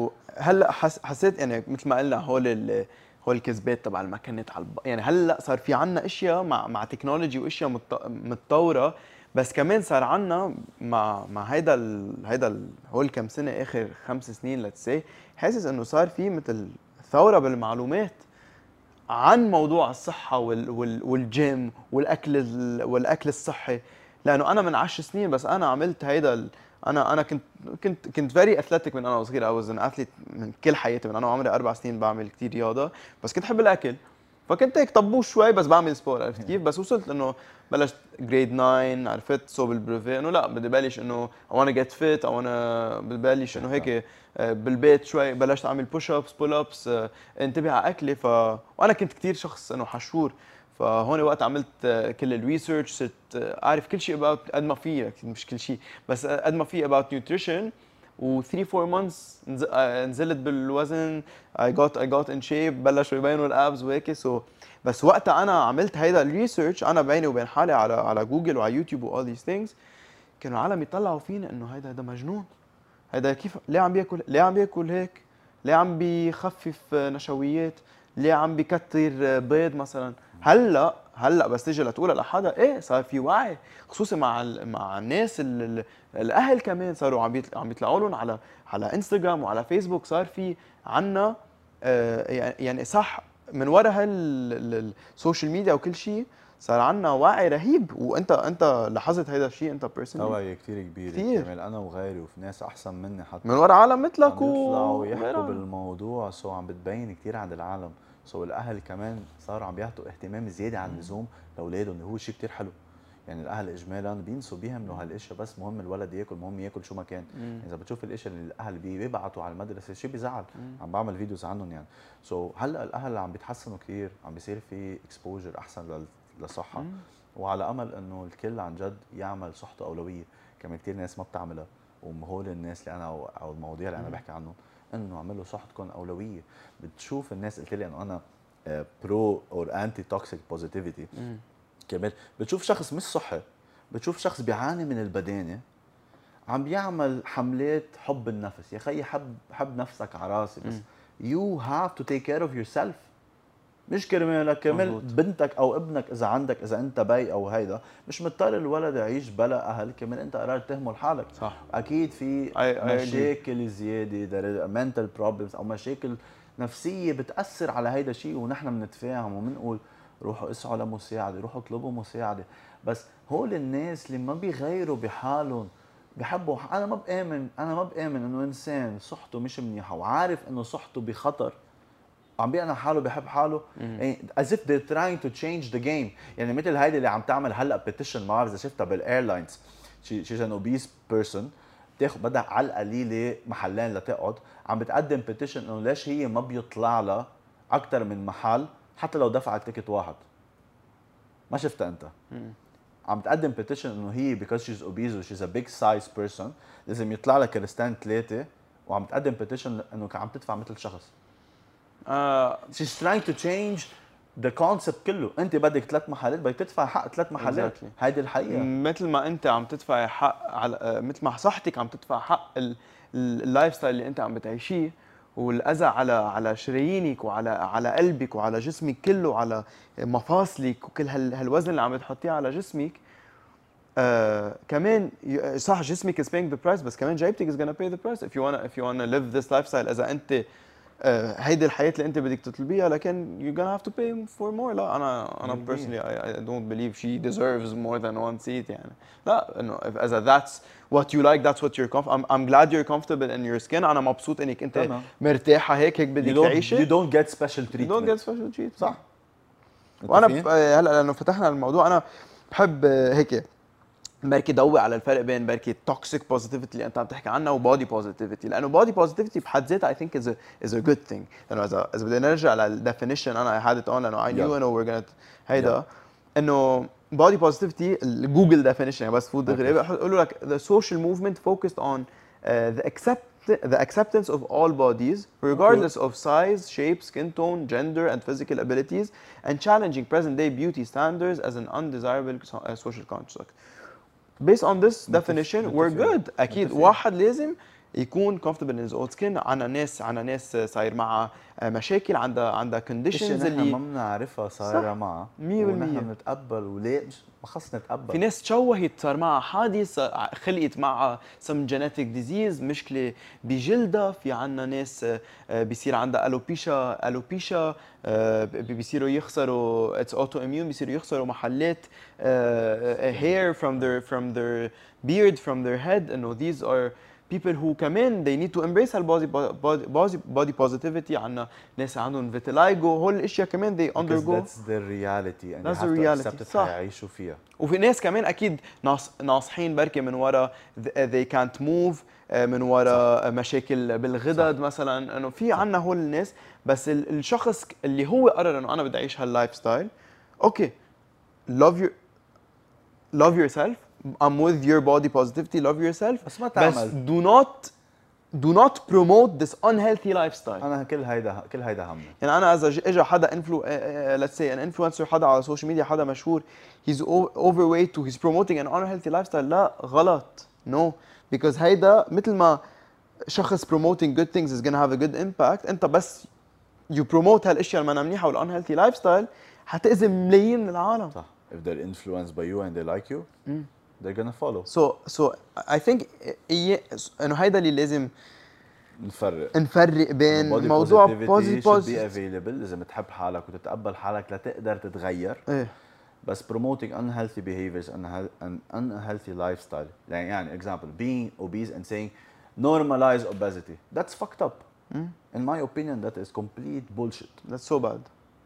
وهلا حس حسيت يعني مثل ما قلنا هول ال هول الكذبات تبع المكنات على الب... يعني هلا صار في عنا اشياء مع مع تكنولوجي واشياء مت... متطوره، بس كمان صار عنا مع مع هيدا ال... هيدا ال... هول كم سنه اخر خمس سنين لتسي، حاسس انه صار في مثل ثوره بالمعلومات. عن موضوع الصحه وال وال والجيم والاكل ال- والاكل الصحي، لانه انا من عشر سنين بس انا عملت هيدا ال- انا انا كنت كنت كنت فيري اثليتيك من انا وصغير. I was an athlete من كل حياتي، من انا وعمري اربع سنين بعمل كثير رياضه، بس كنت احب الاكل، فكنت هيك طبوش شوي بس بعمل سبور، عرفت كيف؟ بس وصلت انه بلشت جريد تسعة، عرفت صوب البروفي انه لا بدي بلش انه I wanna get fit I wanna ببلش انه هيك آه، بالبيت شوي بلشت اعمل بوش ابس بول ابس، انتبه على اكلي. ف وانا كنت كثير شخص انه حشور، فهون وقت عملت آه، كل الريسيرش صرت آه، اعرف كل شيء about قد ما في، أكيد مش كل شيء بس قد ما في about nutrition. و ثلاثة أربعة months نز- آه، نزلت بالوزن. I got I got in shape، بلشوا يبينوا الابز وهيك. سو بس وقتها انا عملت هيدا الريسيرش انا بيني وبين حالي على على جوجل وعلى يوتيوب و all these things، كانوا العالم يطلعوا فينا انه هيدا هيدا مجنون، هيدا كيف ليه عم بياكل ليه عم بياكل هيك، ليه عم بيخفف نشويات، ليه عم بيكتر بيض مثلا. هلا هلا بس تيجي لتقولها لحدا ايه صار في وعي، خصوصي مع ال... مع الناس ال... ال- الاهل كمان صاروا عم بيطلع... عم يطلعوا لهم على على انستغرام وعلى فيسبوك، صار في عنا آه يعني يعني صح من وراء هالسوشيال ميديا وكل شيء صار عنا وعي رهيب. وانت انت لاحظت هيدا الشيء انت بيرسونلي؟ توعية كثير كبيرة كتير. كمان، انا وغيري وفي ناس احسن مني حتى من وراء عالم عم مثلك و يطلعوا يحكوا غيرها. بالموضوع، سو عم بتبين كثير عند العالم. سو الاهل كمان صاروا عم بيعطوا اهتمام زياده عن اللزوم لاولادهم، اللي هو شيء كثير حلو. يعني الاهل اجمالا بينسوا بيهملوا هالاشياء، بس مهم الولد ياكل، مهم ياكل شو ما كان. مم. اذا بتشوف الاشياء اللي الاهل بي- بيبعتوا على المدرسه شيء بيزعل. مم. عم بعمل فيديوز عنهم يعني. سو so هلا الاهل عم بيتحسنوا كثير، عم بيصير في اكسبوجر احسن لل- للصحه. مم. وعلى امل انه الكل عن جد يعمل صحته اولويه. كمان كثير ناس ما بتعملها، وهول الناس اللي انا او أو المواضيع اللي انا مم. بحكي عنهم انه اعملوا صحتكم اولويه. بتشوف الناس، قلت لي انه انا برو اور انتي توكسيك بوزيتيفيتي، مم. كمان بتشوف شخص مش صحي، بتشوف شخص بيعاني من البدانه عم بيعمل حملات حب النفس. يا خيي حب حب نفسك على راسي، بس يو هاف تو تيك كير اوف يور سيلف، مش كرمالك كرمال مظبوط. بنتك او ابنك. اذا عندك اذا انت بي او هيدا، مش مضطر الولد يعيش بلا اهل، كمان انت قررت تهمل حالك. صح. اكيد في I- I agree. مشاكل زياده، منتل بروبلمز او مشاكل نفسيه بتاثر على هيدا الشيء، ونحن بنتفاهم وبنقول روحوا اسعوا لمساعده، روحوا اطلبوا مساعده. بس هول الناس اللي ما بيغيروا بحالهم، بحبوا. انا ما بامن انا ما بامن انه انسان صحته مش منيحه وعارف انه صحته بخطر عم بيقنع حاله بحب حاله، يعني as if they're trying to change the game. يعني مثل هيدي اللي عم تعمل هلا بيتيشن، ما بعرف اذا شفتها بالايرلاينز، شي شي ان اوبيس بيرسون بتاخذ بدها على القليله محلين لتقعد، عم بتقدم بيتيشن انه ليش هي ما بيطلع لها اكثر من محل حتى لو دفعت تيكت واحد. ما شفتها انت؟ مم. عم تقدم بيتيشن انه هي because she's obese و she's a big size person لازم يطلع لها كريستان ثلاثه، وعم تقدم بيتيشن انه عم تدفع مثل شخص. آه She's trying to change the concept كله. انت بدك ثلاث محلات، بدك تدفع حق ثلاث محلات. Exactly. هيدي الحقيقه. مثل ما انت عم تدفع حق على آه، مثل ما صحتك عم تدفع حق ال- ال- اللايف ستايل اللي انت عم بتعيشيه، والاذى على على شرايينك وعلى على قلبك وعلى جسمك كله وعلى مفاصلك وكل هال هالوزن اللي عم بتحطيه على جسمك. آه كمان ي- صح جسمك is paying the price، بس كمان جايبتك is gonna pay the price if you wanna if you wanna live this lifestyle. اذا انت آه هيدي الحياة اللي انت بدك تطلبيها، لكن you're gonna have to pay for more. لا انا انا بالمية. personally I, I don't believe she deserves more than one seat يعني. لا انه if اذا that's what you like that's what you're comfortable. I'm, I'm glad you're comfortable in your skin. انا مبسوط انك انت تمام. مرتاحة هيك هيك You بدك don't, تعيشي. you don't get special You treatment. don't get special treatment. صح. وانا متفقين؟ ب- هلا لانه فتحنا الموضوع انا بحب آه، هيك بركي ضوي على الفرق بين بركي توكسيك بوزيتيفيتي اللي انت عم تحكي عنها وبودي بوزيتيفيتي، لانه بودي بوزيتيفيتي بحد ذاتها اي ثينك از از ا جود ثينج. لانه اذا اذا بدنا نرجع للديفينيشن انا اي هاد ات اون لانه اي نيو انه وير جونا هيدا انه body positivity الجوجل ديفينيشن يعني بس فوت دغري بقولوا لك the social movement focused on uh, the accept the acceptance of all bodies regardless of size, shape, skin tone, gender and physical abilities and challenging present day beauty standards as an undesirable so- uh, social construct. Based on this definition we're good. اكيد متفقين. واحد لازم يكون comfortable in his own skin. عنا ناس عنا ناس صاير معها مشاكل، عندها عندها conditions اللي ما بنعرفها صايره معها مية بالمية ونحن بنتقبل وليه ما خص نتقبل. في ناس تشوهت صار معها حادث، خلقت معها some genetic disease، مشكله بجلدها. في عنا ناس بيصير عندها الوبيشا الوبيشا بيصيروا يخسروا اتس اوتو اميون، بيصيروا يخسروا محلات hair from their from their beard from their head. انه these are people who كمان they need to embrace البودي body body positivity. عنا ناس عندهم vitiligo، هول الاشياء كمان they undergo. That's their reality and that's you have the to reality. accept it حيعيشوا فيها. وفي ناس كمان اكيد ناص ناصحين بركي من ورا they can't move، من ورا مشاكل بالغدد صح. مثلا انه في عنا هول الناس. بس الشخص اللي هو قرر انه انا بدي اعيش هاللايف ستايل، اوكي love your love yourself. I'm with your body positivity. Love yourself. بس ما تعمل. بس do not do not promote this unhealthy lifestyle. انا كل هيدا كل هيدا همي. يعني انا اذا اجى حدا انفلو let's say an influencer، حدا على السوشيال ميديا، حدا مشهور he's overweight و he's promoting an unhealthy lifestyle، لا غلط. no because هيدا مثل ما شخص promoting good things is gonna have a good impact، انت بس you promote هالاشياء المنا منيحه وال unhealthy lifestyle حتأذي ملايين من العالم. صح. if they're influenced by you and they like you mm. they're gonna follow. so so I think انه هيدا اللي لازم نفرق نفرق بين موضوع positivity should be available. لازم تحب حالك وتتقبل حالك لتقدر تتغير. ايه. بس promoting unhealthy behaviors and unhealthy lifestyle، يعني يعني example being obese and saying normalize obesity, that's fucked up. mm. in my opinion that is complete bullshit. that's so bad.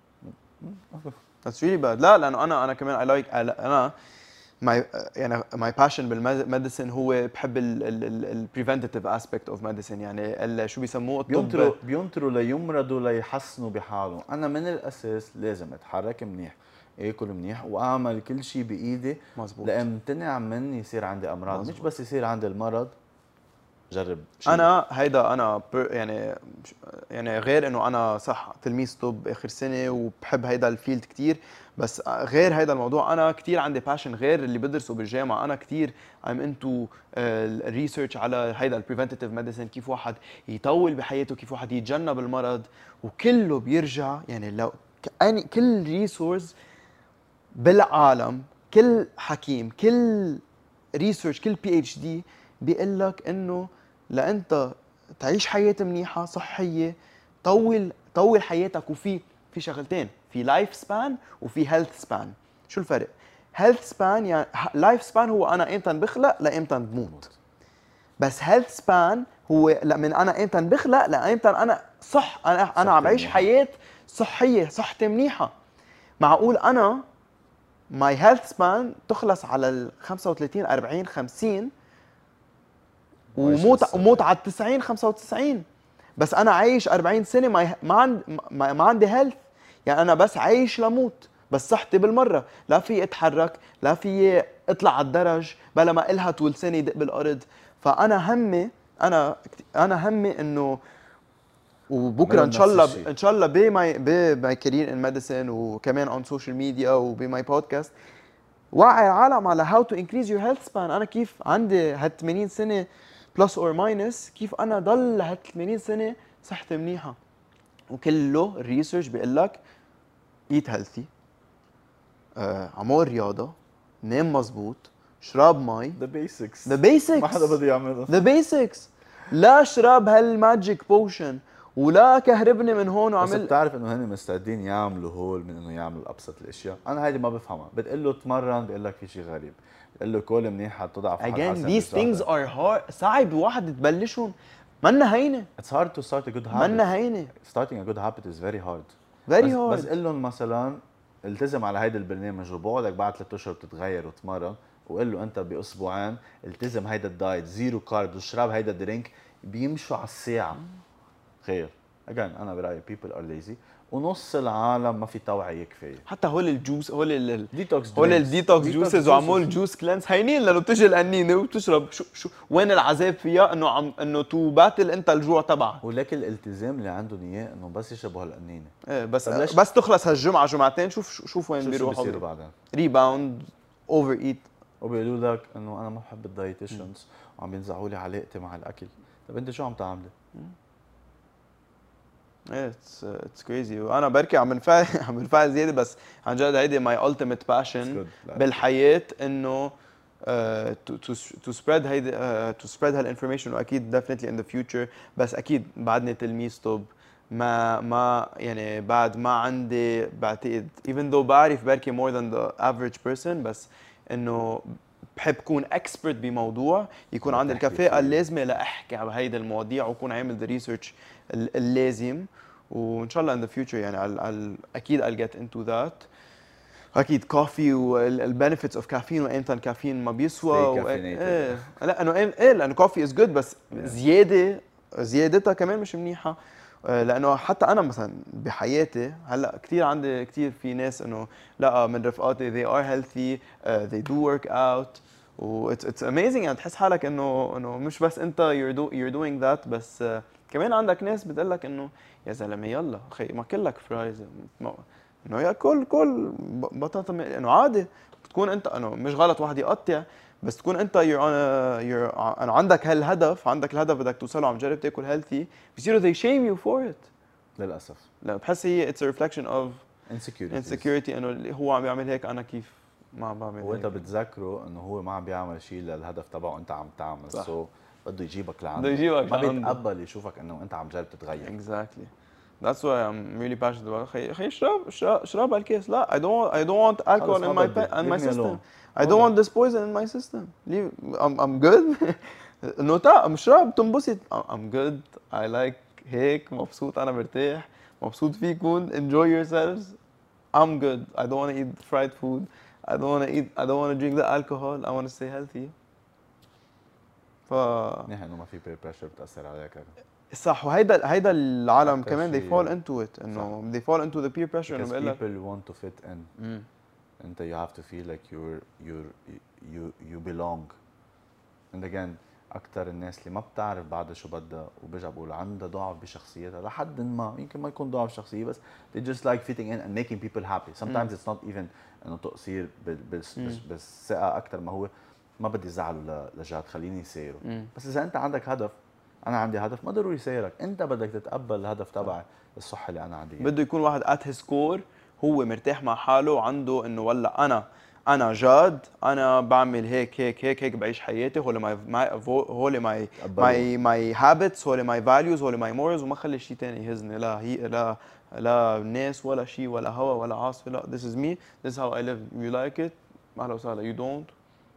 that's really bad. لا لانه انا انا كمان I like انا my يعني my passion بالميديسن هو بحب ال preventative aspect of medicine. يعني شو بيسموه الطب بينطروا بينطروا ليمرضوا ليحسنوا بحالهم. انا من الاساس لازم اتحرك منيح، اكل منيح، واعمل كل شيء بايدي مزبوط لامتنع من يصير عندي امراض. مزبوط. مش بس يصير عندي المرض جرب شيء. انا هيدا انا يعني يعني غير انه انا صح تلميذ طب اخر سنه وبحب هيدا الفيلد كثير، بس غير هيدا الموضوع انا كثير عندي باشن غير اللي بدرسه بالجامعه. انا كثير I'm into الريسيرش على هيدا البريفنتيف ميديسن، كيف واحد يطول بحياته، كيف واحد يتجنب المرض، وكله بيرجع يعني لو اني كل ريسورس بالعالم، كل حكيم، كل ريسيرش، كل بي اتش دي بيقول لك انه لانت تعيش حياه منيحه صحيه طول طول حياتك. وفي في شغلتين، في لايف سبان وفي هيلث سبان. شو الفرق؟ هيلث سبان يعني لايف سبان هو انا امتى بخلق لامتى بموت، بس هيلث سبان هو من انا امتى بخلق لامتى انا صح انا انا عم بعيش حياه صحيه، صحتي منيحه. معقول انا ماي هيلث سبان تخلص على ال خمسة وثلاثين أربعين خمسين وموت وموت على التسعين خمسة وتسعين، بس انا عايش أربعين سنه ما ما عندي ما عندي هيلث. يعني انا بس عايش لموت، بس صحتي بالمره، لا في اتحرك، لا في اطلع على الدرج بلا ما الها طول سنه يدق بالارض. فانا همي انا انا همي انه وبكره ان شاء الله ان شاء الله بماي بماي كارير ان ميديسن وكمان اون سوشيال ميديا وبماي بودكاست وعي العالم على هاو تو انكريز يور هيلث سبان. انا كيف عندي هال ثمانين سنه بلس اور ماينس، كيف انا ضل هال ثمانين سنه صحتي منيحه. وكله الريسيرش بيقول لك ايت هيلثي، اعمل رياضه، نام مزبوط، اشرب مي. ذا بيسكس ذا بيسكس ما حدا بده يعملها. ذا بيسكس. لا اشرب هالماجيك بوشن ولا كهربني من هون وعمل. بس بتعرف انه هن مستعدين يعملوا هول من انه يعملوا ابسط الاشياء. انا هيدي ما بفهمها. بتقول له تمرن بيقول لك في شيء غريب، بتقول له كل منيح حتضعف again these things are hard. صعب واحد تبلشهم، منا هينه. it's hard to start a good habit. منا هينه. starting a good habit is very hard very بس hard. بس قل لهم مثلا التزم على هيدا البرنامج وبعدك بعد ثلاث اشهر بتتغير وتمرن، وقل له انت باسبوعين التزم هيدا الدايت، زيرو كارب، واشرب هيدا الدرينك، بيمشوا على الساعه. خير again انا برايي people are lazy، ونص العالم ما في توعيه كفايه. حتى هول الجوس هول الديتوكس هول الديتوكس جوسز وعمول جوس كلانس هينين لانه بتجي القنينه وبتشرب. شو شو وين العذاب فيها؟ انه عم انه تو باتل انت الجوع تبعك. ولكن الالتزام اللي عندهم اياه انه بس يشربوا هالقنينه. ايه بس بس تخلص هالجمعه جمعتين شوف شوف وين بيروحوا. شو بصير بعدين؟ ريباوند، اوفر ايت، وبيقولوا لك انه انا ما بحب الدايتيشنز وعم بينزعوا لي علاقتي مع الاكل. طب انت شو عم تعملي؟ ايه اتس اتس كريزي. وانا بركي عم بنفعل عم بنفعل زياده، بس عن جد هيدي ماي التيميت باشن بالحياه، انه تو تو تو سبريد هيدي تو سبريد هالانفورميشن. واكيد ديفينتلي ان ذا فيوتشر، بس اكيد بعدني تلميذ طب، ما ما يعني بعد ما عندي بعتقد even though بعرف بركي more than the average person، بس انه بحب كون اكسبرت بموضوع، يكون عندي الكفاءه اللازمه لاحكي على هيدي المواضيع، وكون عامل ذا ريسيرش اللازم. وان شاء الله in the future يعني I'll, I'll اكيد I'll get into that. اكيد كوفي والبنفيتس اوف كافيين، وامتى الكافيين ما بيسوى و... ايه لا انه ايه لانه كوفي از جود، بس زياده زيادتها كمان مش منيحه. لانه حتى انا مثلا بحياتي هلا كثير عندي كثير في ناس انه لا من رفقاتي they are healthy uh, they do work out و it's, it's amazing. يعني تحس حالك انه انه مش بس انت you're, do, you're doing that، بس uh, كمان عندك ناس بتقول لك انه يا زلمه يلا خي ما كلك فرايز، انه ياكل كل بطاطا، انه عادي تكون انت انه مش غلط واحد يقطع، بس تكون انت you're on a, you're انه عندك هالهدف، عندك الهدف بدك توصله، عم جرب تاكل هيلثي، بصيروا they shame you for it للاسف. لا بحس هي it's a reflection of insecurity insecurity انه هو عم يعمل هيك انا كيف ما عم بعمل هيك. وانت بتذكره انه هو ما عم بيعمل شيء للهدف تبعه وانت عم تعمل، سو so بده يجيبك لعنده، بده يجيبك ما بيتقبل يشوفك انه انت عم جرب تتغير. exactly that's why I'm really passionate about. خي خي اشرب اشرب هالكيس. لا I don't I don't want alcohol in my in my system. I don't want this poison in my system. Leave. I'm I'm good. انه تا مشرب تنبسط. I'm good. I like هيك مبسوط، انا مرتاح مبسوط فيكم. Enjoy yourselves. I'm good. I don't want to eat fried food. I don't want to eat I don't want to drink the alcohol. I want to stay healthy. ف منيح انه ما في peer pressure بتاثر عليك. صح. وهيدا هيدا العالم كمان they fall into it، انه they fall into the peer pressure. انه بقول لك people want to fit in. mm. انت you have to feel like you're you're you you belong. and again اكثر الناس اللي ما بتعرف بعدها شو بدها وبرجع بقول عندها ضعف بشخصيتها لحد ما، يمكن ما يكون ضعف شخصيه، بس they just like fitting in and making people happy. sometimes mm. it's not even انه تقصير بالثقه اكثر ما هو ما بدي زعله لجهات خليني يسيروا. mm. بس اذا انت عندك هدف، انا عندي هدف، ما ضروري يسيرك، انت بدك تتقبل الهدف تبعي الصح اللي انا عندي. بده يكون واحد at his core هو مرتاح مع حاله، وعنده انه والله انا انا جاد، انا بعمل هيك هيك هيك هيك بعيش حياتي، هول ماي هول ماي ماي ماي هابتس، هول ماي فاليوز، هول ماي مورز، وما خلي شيء ثاني يهزني، لا هي لا لا ناس ولا شيء ولا هوا ولا عاصفه. لا this is me, this is how I live. You like it اهلا وسهلا. you don't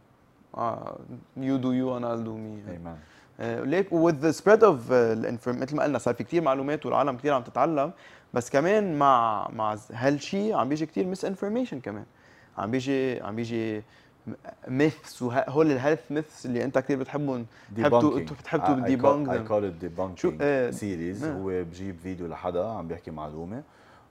uh, you do you and I'll do me. Amen. ليك with the spread of الانفورم مثل ما قلنا صار في كثير معلومات والعالم كثير عم تتعلم، بس كمان مع مع هالشيء عم بيجي كثير مس انفورميشن كمان، عم بيجي عم بيجي ميثس، وهول الهيلث ميثس اللي انت كثير بتحبهم بتحب بتحب تو ديبانك. اي كول ات ديبانكينج سيريز. هو بجيب فيديو لحدا عم بيحكي معلومه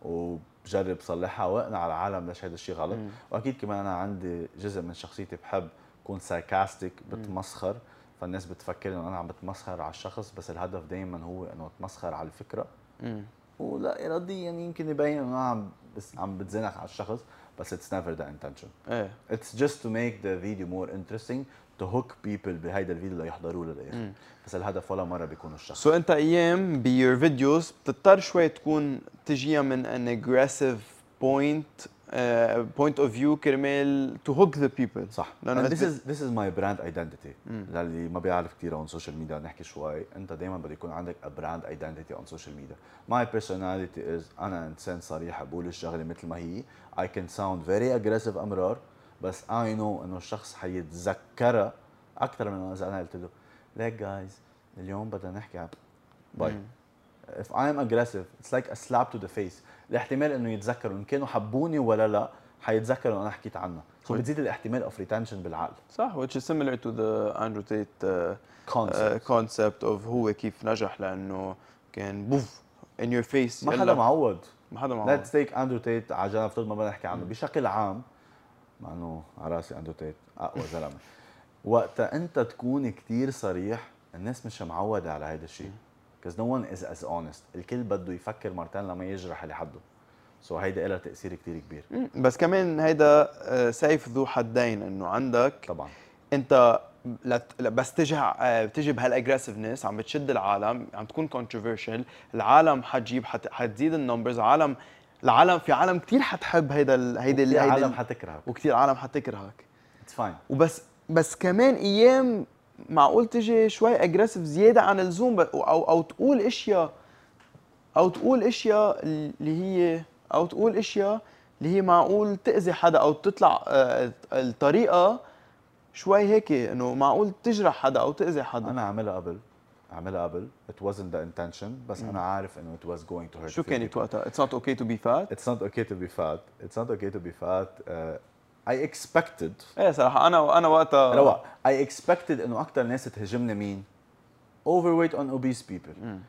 وبجرب صلحها واقنع العالم ليش هذا الشيء غلط. م. واكيد كمان انا عندي جزء من شخصيتي بحب كون ساركاستيك، بتمسخر، فالناس بتفكر انه انا عم بتمسخر على الشخص، بس الهدف دائما هو انه اتمسخر على الفكره. امم ولا اراديا يعني يمكن يبين انه انا عم بس عم بتزنق على الشخص، بس it's never the intention. ايه it's just to make the video more interesting to hook people بهيدا الفيديو ليحضروا للاخر. بس الهدف ولا مره بيكون الشخص. سو so انت ايام بيور فيديوز بتضطر شوي تكون تجيها من an aggressive point Uh, point of view كرمال to hook the people. صح. this is this is my brand identity. للي ما بيعرف كثير عن السوشيال ميديا نحكي شوي، انت دائما بده يكون عندك a brand identity on social media. My personality is انا انسان صريح، بقول الشغله مثل ما هي. I can sound very aggressive امرار، بس I know انه الشخص حيتذكرها اكثر من اذا انا قلت له ليك جايز اليوم بدنا نحكي عن باي. If I am aggressive, it's like a slap to the face. الاحتمال انه يتذكروا ان كانوا حبوني ولا لا، حيتذكروا انه انا حكيت عنها. سو بتزيد الاحتمال اوف ريتنشن بالعقل. صح. which is similar to the Andrew Tate uh, concept. Uh, concept of هو كيف نجح، لانه كان بوف in your face. ما حدا معود. ما حدا معود. Let's take Andrew Tate على جنب، افترض ما بدنا نحكي عنه بشكل عام، مع انه على راسي Andrew Tate اقوى زلمه. وقتها انت تكون كثير صريح، الناس مش معوده على هذا الشيء. because no one is as honest. الكل بده يفكر مرتين لما يجرح اللي حده. سو so هيدا لها تاثير كثير كبير. مم. بس كمان هيدا آه، سيف ذو حدين، انه عندك طبعا انت لت... بس تجي آه، بتجي بهالاجريسفنس عم بتشد العالم، عم تكون كونتروفيرشل، العالم حتجيب حت... حتزيد النمبرز، عالم العالم في عالم كثير حتحب هيدا ال... هيدا كثير هيدا عالم ال... حتكرهك وكثير عالم حتكرهك. اتس فاين. وبس بس كمان ايام معقول تجي شوي اجريسيف زياده عن اللزوم، ب... او او تقول اشياء او تقول اشياء اللي هي او تقول اشياء اللي هي معقول تاذي حدا، او تطلع آه، الطريقه شوي هيك انه معقول تجرح حدا او تاذي حدا. انا عاملها قبل عاملها قبل it wasn't the intention، بس انا عارف انه it was going to hurt. شو كانت وقتها؟ It's not okay to be fat. It's not okay to be fat. It's not okay to be fat. Uh, I expected. ايه صراحه انا انا وقتها روق. I expected انه اكثر ناس تهاجمني مين؟ Overweight and obese people. مم.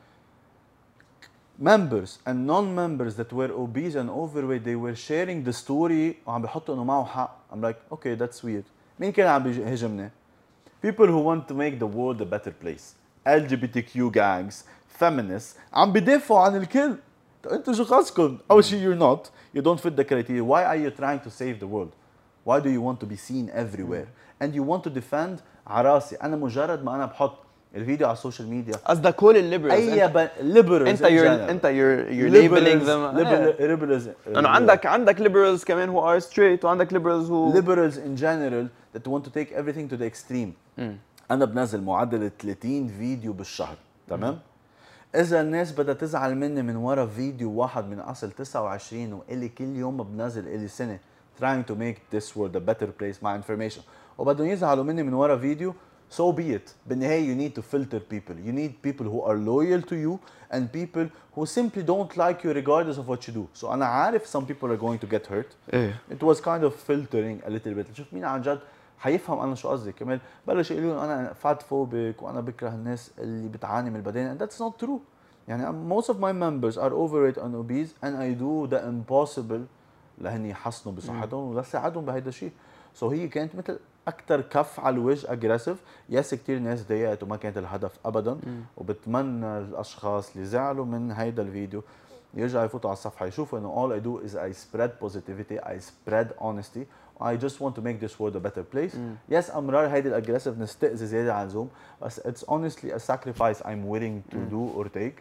Members and non-members that were obese and overweight, they were sharing the story وعم بيحطوا انه معه حق. I'm like, okay, that's weird. مين كان عم بيهاجمني؟ People who want to make the world a better place. إل جي بي تي كيو gangs, feminists, عم بدافعوا عن الكل. طيب انتوا شو خاصكم؟ أول شيء you're not, you don't fit the criteria. Why are you trying to save the world? Why do you want to be seen everywhere? And you want to defend عراسي. أنا مجرد ما أنا بحط الفيديو على السوشيال ميديا قصدك كل الليبرالز، أي ب... liberals انت in you're general. انت you're you're labeling them. liberals, liberals, انه عندك عندك liberals كمان who are straight، وعندك liberals who liberals in general that want to take everything to the extreme. مم. انا بنزل معدل ثلاثين فيديو بالشهر، تمام؟ اذا الناس بدها تزعل مني من ورا فيديو واحد من اصل تسعة وعشرين والي كل يوم بنزل الي سنه trying to make this world a better place مع information، وبدهم يزعلوا مني من ورا فيديو، so be it. بالنهايه you need to filter people. You need people who are loyal to you and people who simply don't like you regardless of what you do. So انا عارف some people are going to get hurt. ايه It was kind of filtering a little bit. شوف مين عن جد حيفهم انا شو قصدي. كمان بلش يقولوا لي انا فات فوبيك وانا بكره الناس اللي بتعاني من البدانه. And that's not true. يعني most of my members are overweight and obese and I do the impossible لهن يحسنوا بصحتهم ولساعدهم بهيدا الشيء. So هي كانت مثل اكثر كف على الوجه اجريسيف. يس كثير ناس ضايقت وما كانت الهدف ابدا. مم. وبتمنى الاشخاص اللي زعلوا من هيدا الفيديو يرجعوا يفوتوا على الصفحه يشوفوا انه all I do is I spread positivity, I spread honesty, I just want to make this world a better place. يس امرار هيدي الاجريسيفنس تاذي زياده عن اللزوم، بس it's honestly a sacrifice I'm willing to mm. do or take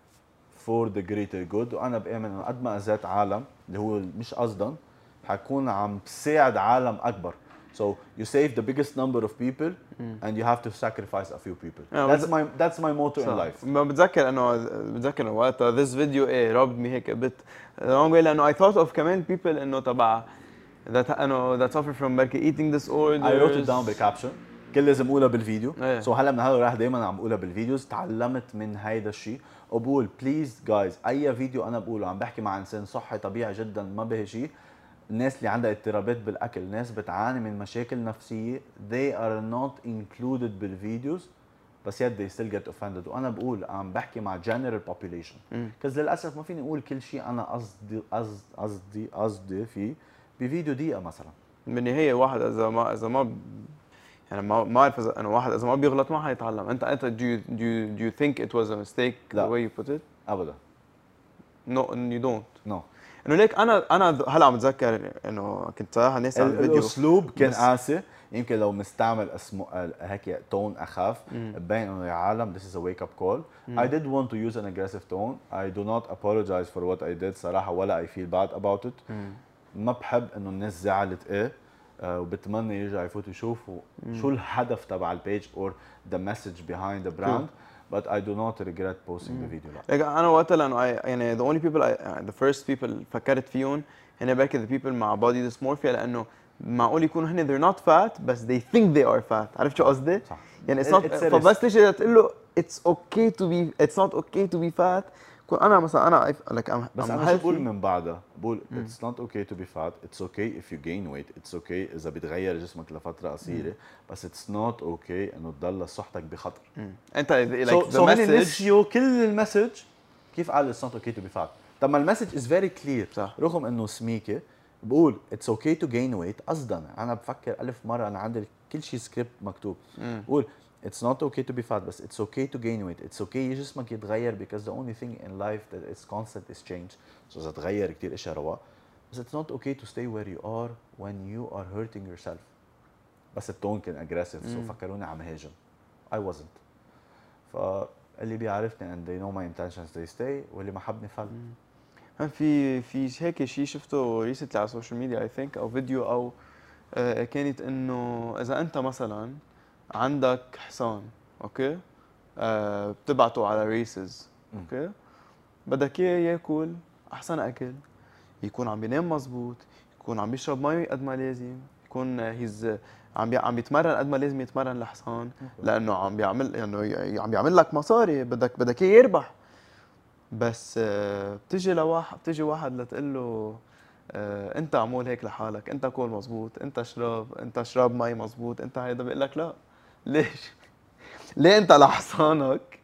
for the greater good. وانا بامن انه قد ما اذيت عالم اللي هو مش قصدا حكون عم بساعد عالم اكبر. So you save the biggest number of people mm. and you have to sacrifice a few people. Yeah, that's my that's my motto in life. ما بتذكر انه بتذكر وقتها this video ايه رابط مي هيك بت long way لانه I thought of كمان people انه تبع that انه that suffer from بركي eating disorders. I wrote it down بالكابشن. كل لازم اقولها بالفيديو. yeah. So هلا من هلا راح دائما عم بقولها بالفيديوز. تعلمت من هيدا الشيء وبقول بليز جايز اي فيديو انا بقوله عم بحكي مع انسان صحي طبيعي جدا ما به شيء، الناس اللي عندها اضطرابات بالاكل، ناس بتعاني من مشاكل نفسيه they are not included بالفيديوز بس yet they still get offended. وانا بقول عم بحكي مع general population كز للاسف ما فيني اقول كل شيء انا قصدي قصدي قصدي قصدي فيه بفيديو دقيقه مثلا. بالنهايه واحد اذا ما اذا ما يعني ما ما بعرف اذا انه واحد اذا ما بيغلط ما حيتعلم. انت انت do you, do you, do you think it was a mistake لا. the way you put it؟ ابدا. no you don't. no. انه ليك انا انا هلا عم بتذكر انه كنت صراحه ناس على الفيديو الاسلوب كان قاسي، يمكن لو مستعمل اسمه هيك تون اخف ببين انه يا عالم this is a wake up call. مم. I did want to use an aggressive tone. I do not apologize for what I did صراحه ولا I feel bad about it. مم. ما بحب انه الناس زعلت ايه uh, وبتمنى يرجعوا يفوتوا يشوفوا شو الهدف تبع البيج or the message behind the brand. Cool. But I do not regret posting mm. the video. like أنا وقتها لأنه يعني the only people I, the first people فكرت فيهم هن بركي the people مع body dysmorphia لأنه معقول يكونوا هن they're not fat بس they think they are fat. عرفت شو قصدي؟ صح. يعني it's not it's فبس تيجي تقول له it's okay to be it's not okay to be fat. كون أنا مثلا أنا like I'm بس أنا شو بقول من بعدها؟ بقول it's not okay to be fat. It's okay if you gain weight. It's okay إذا بتغير جسمك لفترة قصيرة. بس it's not okay إنه تضل صحتك بخطر. أنت like so, the so message. نسيوا كل المسج كيف قال it's not okay to be fat. طب ما المسج is very clear. صح. رغم إنه سميكة بقول it's okay to gain weight قصدا. أنا بفكر ألف مرة أنا عندي كل شيء سكريبت مكتوب. بقول it's not okay to be fat بس it's okay to gain weight. It's okay جسمك يتغير because the only thing in life that is constant is change. So إذا تغير كتير اشياء رواق. بس it's not okay to stay where you are when you are hurting yourself. بس التون كان aggressive so فكروني عم هاجم. I wasn't. فاللي بيعرفني and they know my intentions they stay واللي ما حبني فل. في في هيك شيء شفته ريسنتلي على السوشيال ميديا اي ثينك او فيديو او آه كانت انه اذا انت مثلا عندك حصان اوكي آه بتبعته على ريسز اوكي بدك اياه ياكل احسن اكل يكون عم بينام مزبوط يكون عم بيشرب مي قد ما لازم يكون هيز عم بي عم بيتمرن قد ما لازم يتمرن الحصان لانه عم بيعمل يعني عم بيعمل لك مصاري بدك بدك اياه يربح بس آه بتجي لواحد بتجي واحد لتقول له آه انت عمول هيك لحالك انت كول مزبوط انت شرب انت شرب مي مزبوط انت هيدا بيقول لك لا ليش ليه انت لحصانك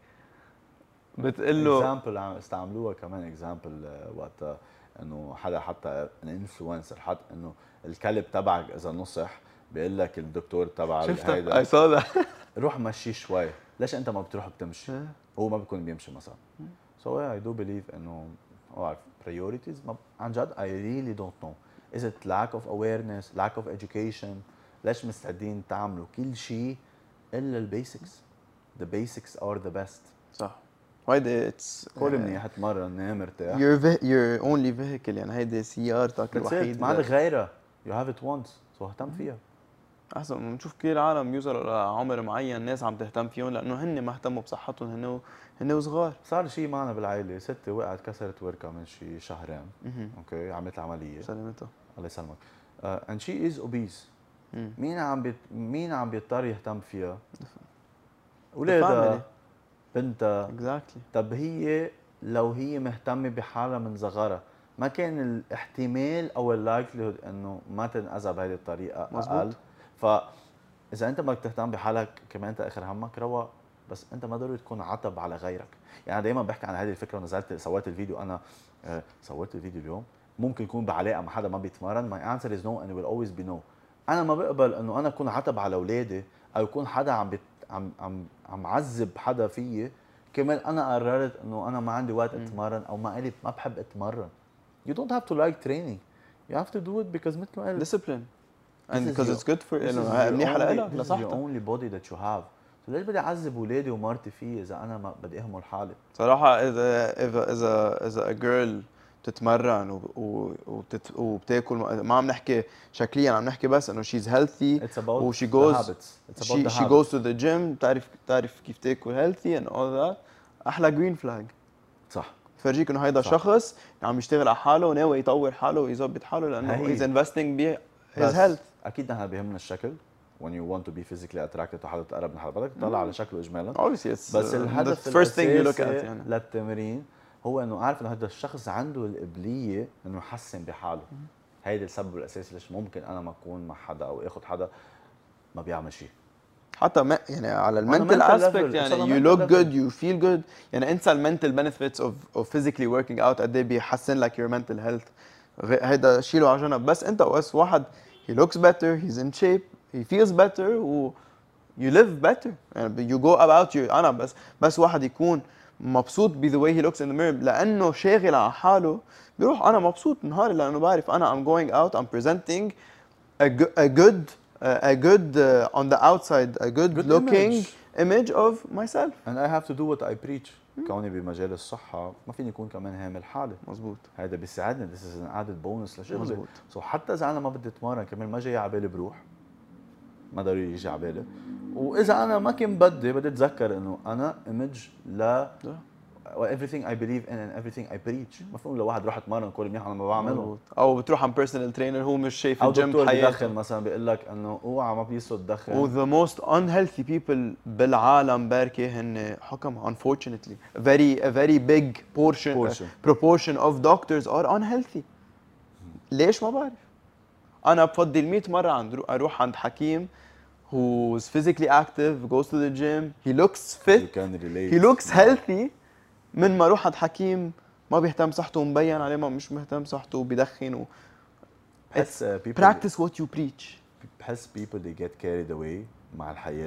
بتقول له اكزامبل عم استعملوها كمان اكزامبل وقت انه حدا حتى انفلونسر حط انه الكلب تبعك اذا نصح بيقول لك الدكتور تبع هيدا اي سو ذات روح مشيه شوي ليش انت ما بتروح بتمشي هو ما بيكون بيمشي مثلا so yeah, I do believe انه oh, priorities ما عن جد I really don't know is it lack of awareness lack of education ليش مستعدين تعملوا كل شيء الا البيسكس the basics are the best صح هيدا اتس كل منيح تمرن نام مرتاح your your only vehicle يعني هيدي سيارتك الوحيده ما عندك غيرها you have it once so اهتم فيها احسن بنشوف كثير عالم يوصلوا لعمر معين ناس عم تهتم فيهم لانه هن ما اهتموا بصحتهم هن هن وصغار صار شيء معنا بالعائله ستي وقعت كسرت وركه من شي شهرين اوكي عملت عمليه سلامتها الله يسلمك uh, and she is obese مم. مين عم بيت... مين عم بيضطر يهتم فيها اولادها بنتها exactly. طب هي لو هي مهتمه بحالها من صغرها ما كان الاحتمال او اللايكليهود انه ما تنأذى بهذه الطريقه مزبوط. اقل فاذا انت بدك تهتم بحالك كمان انت اخر همك روق بس انت ما ضروري تكون عتب على غيرك يعني دائما بحكي عن هذه الفكره ونزلت سويت الفيديو انا آه سويت الفيديو اليوم ممكن يكون بعلاقه مع حدا ما بيتمرن my answer is no and it will always be no انا ما بقبل انه انا اكون عتب على اولادي او يكون حدا عم بيت عم عم عم عذب حدا فيي كمان انا قررت انه انا ما عندي وقت اتمرن او ما قلت ما بحب اتمرن you don't have to like training you have to do it because مثل ما قلت discipline and because it's good for انه منيحه لك لصحتك this is the only body that you have so ليش بدي اعذب اولادي ومرتي فيي اذا انا ما بدي اهمل حالي صراحه اذا اذا اذا اذا a girl بتتمرن وبتت... وبتاكل ما عم نحكي شكليا عم نحكي بس انه she's healthy و she goes she, she goes to the gym بتعرف بتعرف كيف تاكل healthy and all that احلى green flag صح فرجيك انه هيدا شخص عم يشتغل على حاله وناوي يطور حاله ويظبط حاله لانه he's investing ب his health اكيد نحن بيهمنا الشكل when you want to be physically attracted وحدا تقرب من حدا بدك تطلع على شكله اجمالا obviously it's بس الهدف the first thing you look at يعني للتمرين هو انه عارف انه هذا الشخص عنده القابليه انه يحسن بحاله هيدا السبب الاساسي ليش ممكن انا ما اكون مع حدا او اخذ حدا ما بيعمل شيء حتى ما يعني على المنتل اسبكت يعني you look good you feel good يعني انسى المنتل benefits of of physically working out قد ايه بيحسن لك your mental health هيدا شيله على جنب بس انت بس واحد he looks better he's in shape he feels better و you live better يعني you go about you انا بس بس واحد يكون مبسوط ب the way he looks in the mirror لانه شاغل على حاله بيروح انا مبسوط نهاري لانه بعرف انا I'm going out I'm presenting a good a good uh, a good uh, on the outside a good, good looking image. image of myself and I have to do what I preach كوني بمجال الصحة ما فيني يكون كمان هامل حالي مزبوط هذا بيساعدني this is an added bonus لشغلي مزبوط so حتى إذا أنا ما بدي أتمرن كمان ما جاي على بالي بروح ما ضروري يجي على بالي وإذا أنا ما كان بدي بدي أتذكر إنه أنا image ل everything I believe in and everything I preach مفهوم لو واحد راح اتمرن كل منيح انا ما بعمله او بتروح عند بيرسونال ترينر هو مش شايف الجيم بحياته او دكتور بدخن مثلا بيقول لك انه اوعى ما بيسوا تدخن و the most unhealthy people بالعالم بركي هن حكم unfortunately very a very big portion, portion. Uh, proportion of doctors are unhealthy ليش ما بعرف انا بفضل مية مره عند اروح عند حكيم who's physically active goes to the gym he looks fit he looks healthy من ما اروح عند حكيم ما بيهتم صحته مبين عليه ما مش مهتم صحته وبيدخن و بحس practice what you preach بحس people they get carried away مع الحياة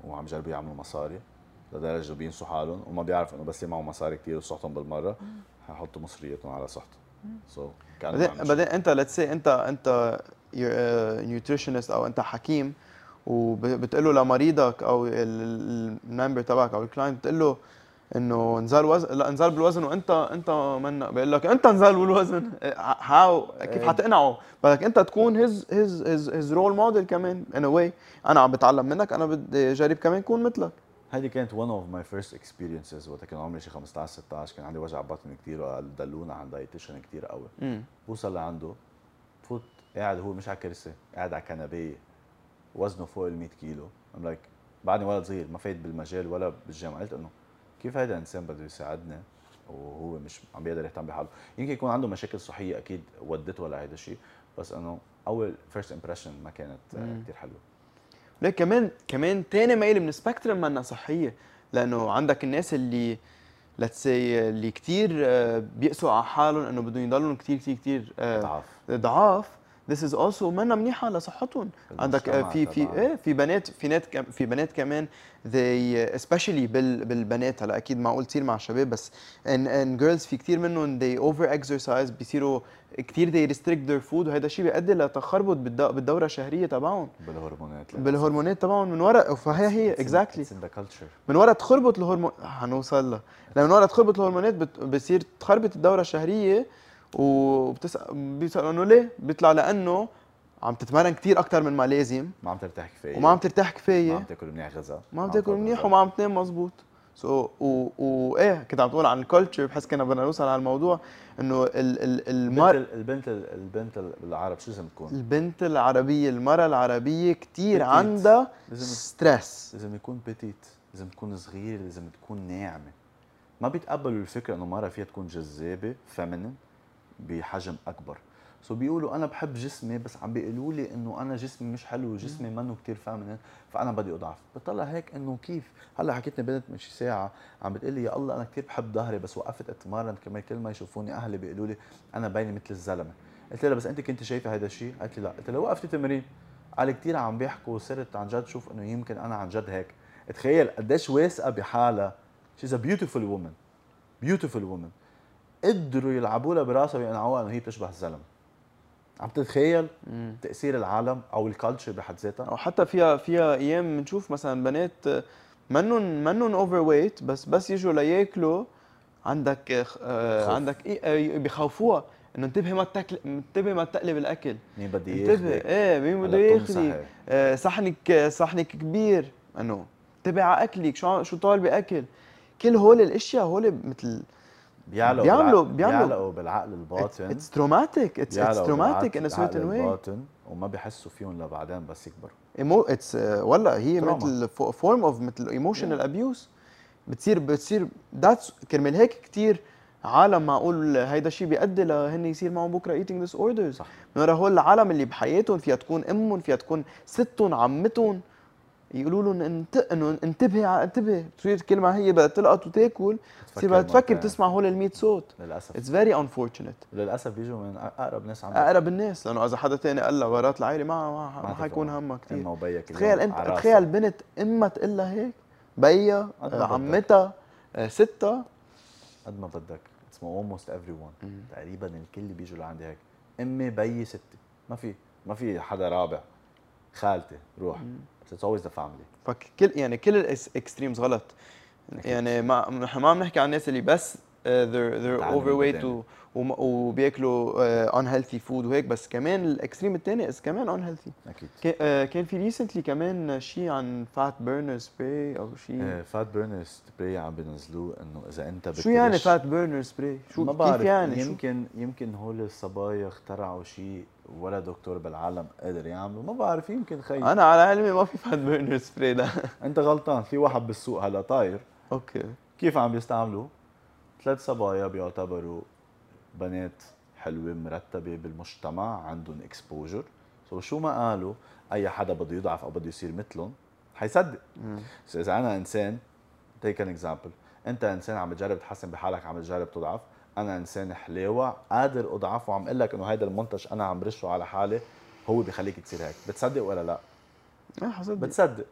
وعم يجربوا يعملوا مصاري لدرجه بينسوا حالهم وما بيعرفوا انه بس يجمعوا مصاري كثير وصحتهم بالمره حيحطوا مصرياتهم على صحتهم. سو so, بعدين بعدين انت ليتس سي انت انت نيوتريشنست او انت حكيم وبتقول له لمريضك او الممبر تبعك او الكلاينت بتقول له انه انزال وزن، لا انزال بالوزن وانت انت من بيقول لك انت انزال بالوزن، هاو كيف حتقنعه؟ بدك انت تكون هيز هيز هيز هيز رول موديل كمان ان واي. انا عم بتعلم منك، انا بدي اجرب كمان اكون مثلك. هذه كانت one of my first experiences وقت كان عمري شي خمسطعش ستطعش، كان عندي وجع بطن كثير وقال دلونا عند دايتيشن كثير قوي. بوصل لعنده بفوت قاعد هو مش على كرسي، قاعد على كنبايه وزنه فوق ال مية كيلو. I'm like بعدني ولد صغير ما فايت بالمجال ولا بالجامعه، قلت انه كيف هذا الانسان بده يساعدنا وهو مش عم بيقدر يهتم بحاله؟ يمكن يكون عنده مشاكل صحيه اكيد ودته لهيدا الشيء، بس انه اول فيرست امبريشن ما كانت كثير حلوه. ليك كمان كمان ثاني ميل من سبيكترم منا صحيه، لانه عندك الناس اللي ليتس سي اللي كثير بيقسوا على حالهم انه بدهم يضلوا كثير كثير كثير ضعاف ضعاف. This is also منا منيحه لصحتهم. عندك في في ايه في بنات في بنات في بنات كمان they especially بال بالبنات، هلا اكيد معقول تصير مع الشباب بس ان ان girls في كثير منهم they over exercise، بيصيروا كثير they restrict their food، وهذا الشيء بيؤدي لتخربط بالدوره الشهريه تبعهم، بالهرمونات بالهرمونات تبعهم من وراء. فهي هي اكزاكتلي من وراء تخربط الهرمون حنوصل لها، لما من وراء تخربط الهرمونات بتصير تخربط الدوره الشهريه. وبتسال بيسالوا انه ليه؟ بيطلع لانه عم تتمرن كثير اكثر من ما لازم، ما عم ترتاح كفايه وما عم ترتاح كفايه، ما عم تاكل منيح غذاء، ما عم تاكل منيح وما عم تنام مزبوط. سو so, و, و ايه كنت عم تقول عن الكالتشر، بحس كنا بدنا نوصل على الموضوع انه ال ال المر البنت البنت بالعرب شو لازم تكون؟ البنت العربيه المراه العربيه كثير عندها ستريس، لازم يكون بيتيت، لازم تكون صغيره، لازم تكون ناعمه. ما بيتقبلوا الفكره انه مره فيها تكون جذابه فيمينين بحجم اكبر. سو so بيقولوا انا بحب جسمي بس عم بيقولوا لي انه انا جسمي مش حلو وجسمي منه كثير فيمينين فانا بدي اضعف. بطلع هيك انه كيف هلا حكيتني بنت من شي ساعه عم بتقول لي يا الله انا كثير بحب ظهري بس وقفت اتمرن كمان كل ما يشوفوني اهلي بيقولوا لي انا باينه مثل الزلمه. قلت لها بس انت كنت شايفه هذا الشيء؟ قالت لي لا. قلت لها وقفتي تمرين؟ قال كثير عم بيحكوا وصرت عن جد شوف انه يمكن انا عن جد هيك. تخيل قديش واثقه بحالها. شيز ا بيوتيفول وومن، بيوتيفول وومن. قدروا يلعبوا لها براسها ويقنعوها انه هي بتشبه الزلمه. عم تتخيل مم. تاثير العالم او الكالتشر بحد ذاتها؟ او حتى فيها فيها ايام بنشوف مثلا بنات منن منن اوفر ويت بس بس يجوا لياكلوا عندك آه عندك ايه بخوفوها انه انتبهي ما تاكل، انتبهي ما تقلب الاكل، مين بده ياخذك؟ انتبهي ايه مين بده ياخذك؟ آه صحنك صحنك كبير، انه انتبهي على اكلك، شو شو طالبه اكل. كل هول الاشياء هول مثل بيعلقوا بيعملوا بيعلقوا بالعقل الباطن. اتس تروماتيك، اتس اتس تروماتيك ان ا سيرتن واي الباطن وما بيحسوا فيهم لبعدين بس يكبروا. ايمو اتس ولا هي مثل فورم اوف مثل ايموشنال ابيوز بتصير بتصير ذاتس كرمال هيك كثير عالم معقول هيدا الشيء بيؤدي لهن يصير معهم بكره ايتينج ديس اوردرز. من ورا هول العالم اللي بحياتهم فيها تكون امهم، فيها تكون ستهم، عمتهم، يقولوا لهم انت انه انتبهي انتبهي. تصير كل ما هي بدها تلقط وتاكل تصير بدها تفكر تسمع هول ال مية صوت. للاسف اتس فيري انفورشنت. للاسف بيجوا من اقرب ناس عندك، اقرب الناس، لانه اذا حدا ثاني قال لها ورات العائله ما ما, ما حيكون همها كثير. امها وبيها تخيل انت تخيل بنت امها تقول لها هيك، بيها عمتها ستها قد ما بدك. اسمه almost everyone تقريبا الكل بيجوا لعندي هيك، امي بيي ستي، ما في ما في حدا رابع، خالتي روح. It's always the family. فكل يعني كل الاكستريمز غلط. يعني ما نحن ما بنحكي عن الناس اللي بس they're they're overweight و وبياكلوا uh, unhealthy food وهيك، بس كمان الاكستريم الثاني is كمان unhealthy. اكيد. كان في ريسنتلي كمان شيء عن فات بيرنر سبراي او شيء. فات بيرنر سبراي عم بينزلوه انه اذا انت شو يعني فات بيرنر سبراي؟ شو ما كيف بعرف يعني؟ يمكن شو؟ يمكن هول الصبايا اخترعوا شيء ولا دكتور بالعالم قادر يعمله، ما بعرف. يمكن خي انا على علمي ما في فات بيرنر سبراي ده. انت غلطان. في واحد بالسوق هلا طاير. اوكي. كيف عم بيستعملوه؟ ثلاث صبايا بيعتبروا بنات حلوه مرتبه بالمجتمع، عندهم اكسبوجر. سو شو ما قالوا اي حدا بده يضعف او بده يصير مثلهم حيصدق. سو اذا انا انسان تيك ان اكزامبل، انت انسان عم بتجرب تحسن بحالك، عم بتجرب تضعف، انا انسان حلاوه قادر اضعف وعم اقول لك انه هيدا المنتج انا عم برشه على حالي هو بيخليك تصير هيك، بتصدق ولا لا؟ اه حصدق. بتصدق.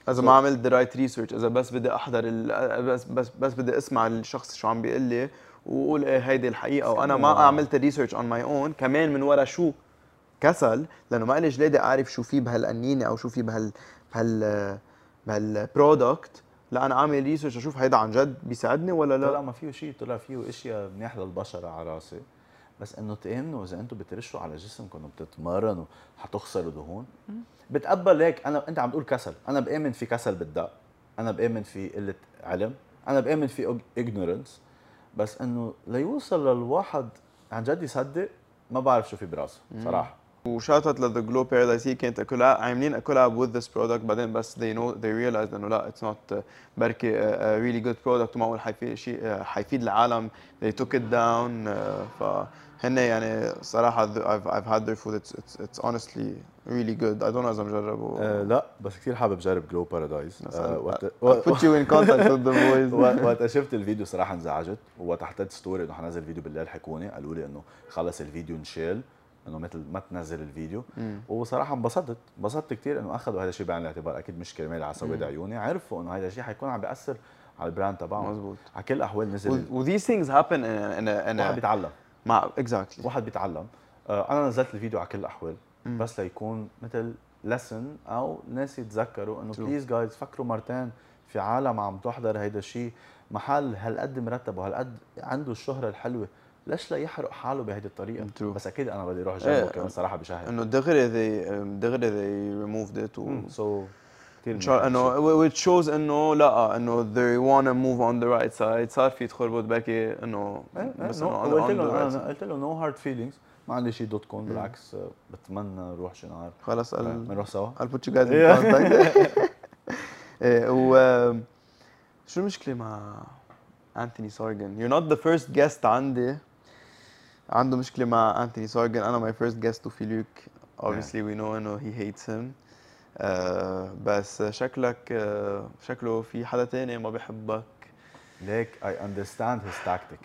اذا ما عملت the right research، اذا بس بدي احضر ال... بس بس بس بدي اسمع الشخص شو عم بيقول لي وقول ايه هيدي الحقيقه، وانا ما عملت الريسيرش اون ماي اون كمان من ورا شو كسل، لانه ما لي جلادي اعرف شو في بهالقنينه او شو في بهال بهال بهالبرودكت. لا انا عامل ريسيرش اشوف هيدا عن جد بيساعدني ولا لا. طلع ما فيه شيء، طلع فيه اشياء منيح للبشره على راسي، بس انه تامنوا اذا انتم بترشوا على جسمكم وبتتمرنوا حتخسروا دهون. بتقبل هيك. انا انت عم تقول كسل، انا بامن في كسل بالدق، انا بامن في قله علم، انا بامن في ignorance، بس انه ليوصل للواحد عن جد يصدق ما بعرف شو في براسه صراحه. وشاتت لذا جلو بارادايس، هي كانت كلها عاملين كولاب with this product، بعدين بس they know they realized انه لا it's not بركي a really good product ومعقول حيفيد شيء حيفيد العالم. they took it down. فهن يعني صراحه I've I've had their food. it's it's it's honestly really good. I don't know اذا مجربه. أه لا بس كثير حابب جرب جلو بارادايس. أه وقت put you in contact with the boys. وقت شفت الفيديو صراحه انزعجت، ووقت حطيت ستوري انه حنزل فيديو بالليل حكوني قالوا لي انه خلص الفيديو انشال، انه مثل ما تنزل الفيديو. مم. وصراحه انبسطت انبسطت كثير انه اخذوا هذا الشيء بعين الاعتبار. اكيد مش كرمال على سواد عيوني، عرفوا انه هذا الشيء حيكون عم بياثر على البراند تبعهم. مزبوط. على كل الاحوال نزل و these things happen in a in a واحد بيتعلم مع exactly واحد بيتعلم. آه انا نزلت الفيديو على كل الاحوال مم. بس ليكون مثل لسن او الناس يتذكروا انه بليز جايز فكروا مرتين، في عالم عم تحضر هيدا الشيء، محل هالقد مرتب وهالقد عنده الشهره الحلوه، ليش لا يحرق حاله بهيدي الطريقه؟ True. بس اكيد انا بدي اروح جنبه كمان صراحه بشهر انه دغري they دغري they removed it و سو كثير انه which shows انه لا انه they wanna move on the right side. صار في تخربط باقي انه بس انه قلت له انا قلت له نو هارد فيلينجز، ما عندي شيء دوت كوم، بالعكس بتمنى نروح شي نهار. خلص بنروح سوا. I'll put you guys in contact. و شو المشكله مع أنتوني سورغن؟ You're not the first guest عندي عنده مشكلة مع أنتوني سورغن. أنا my first guest وفيليك obviously yeah. we know إنه he hates him. uh, بس شكلك uh, شكله في حدا تاني ما بيحبك. ليك I understand his tactic.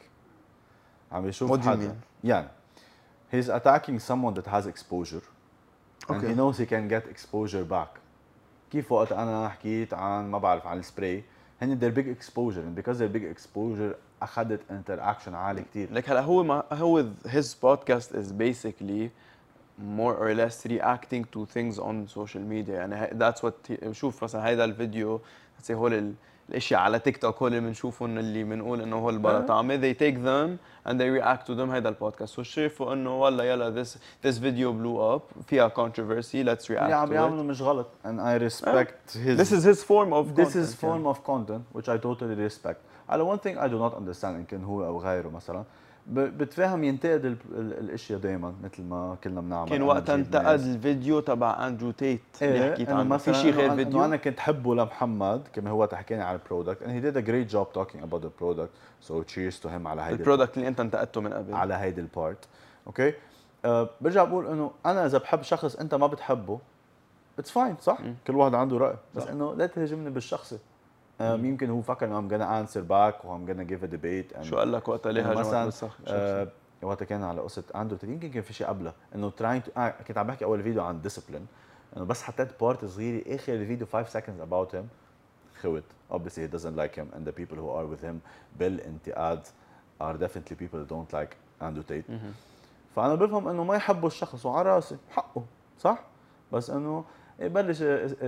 عم يشوف What do you mean؟ يعني he's attacking someone that has exposure and okay. he knows he can get exposure back. كيف وقت أنا حكيت عن ما بعرف عن السبراي، هن their big exposure and because their big exposure أخذت interaction عالي كتير. لك هلا هو ما هو his podcast is basically more or less reacting to things on social media. يعني that's what he, شوف مثلا هيدا الفيديو let's say هول الاشياء على تيك توك هول اللي بنشوفهم اللي بنقول انه هول البلا طعمه they take them and they react to them. هيدا البودكاست وشافوا انه والله يلا this this video blew up فيها controversy let's react اللي عم بيعملوا مش غلط and I respect uh, his this is his form of this content, is form yeah. of content which I totally respect. على one thing I do not understand إن كان هو أو غيره مثلا بتفهم ينتقد ال ال الاشياء دائما مثل ما كلنا بنعمل. كان وقت انتقد الفيديو تبع اندرو تيت اللي حكيت عنه في شيء غير فيديو. انا كنت حبه لمحمد كما هو تحكينا على البرودكت and he did a great job talking about the product so cheers to him على هيدي البرودكت اللي انت انتقدته من قبل على هيدي البارت. اوكي أه برجع بقول انه انا اذا بحب شخص انت ما بتحبه اتس فاين صح م. كل واحد عنده راي بس انه لا تهاجمني بالشخصي. Um, يمكن هو فكر انه I'm gonna answer back و I'm gonna give a debate. شو قال لك وقتها ليه هاجمك بالصخ؟ uh, وقتها كان على قصه اندرو يمكن كان في شيء قبله انه trying to آه كنت عم بحكي اول فيديو عن discipline انه بس حطيت بارت صغيره اخر الفيديو five seconds about him خوت obviously he doesn't like him and the people who are with him بالانتقاد are definitely people who don't like Andrew Tate. فانا بفهم انه ما يحبوا الشخص وعلى راسي حقه صح بس انه يبلش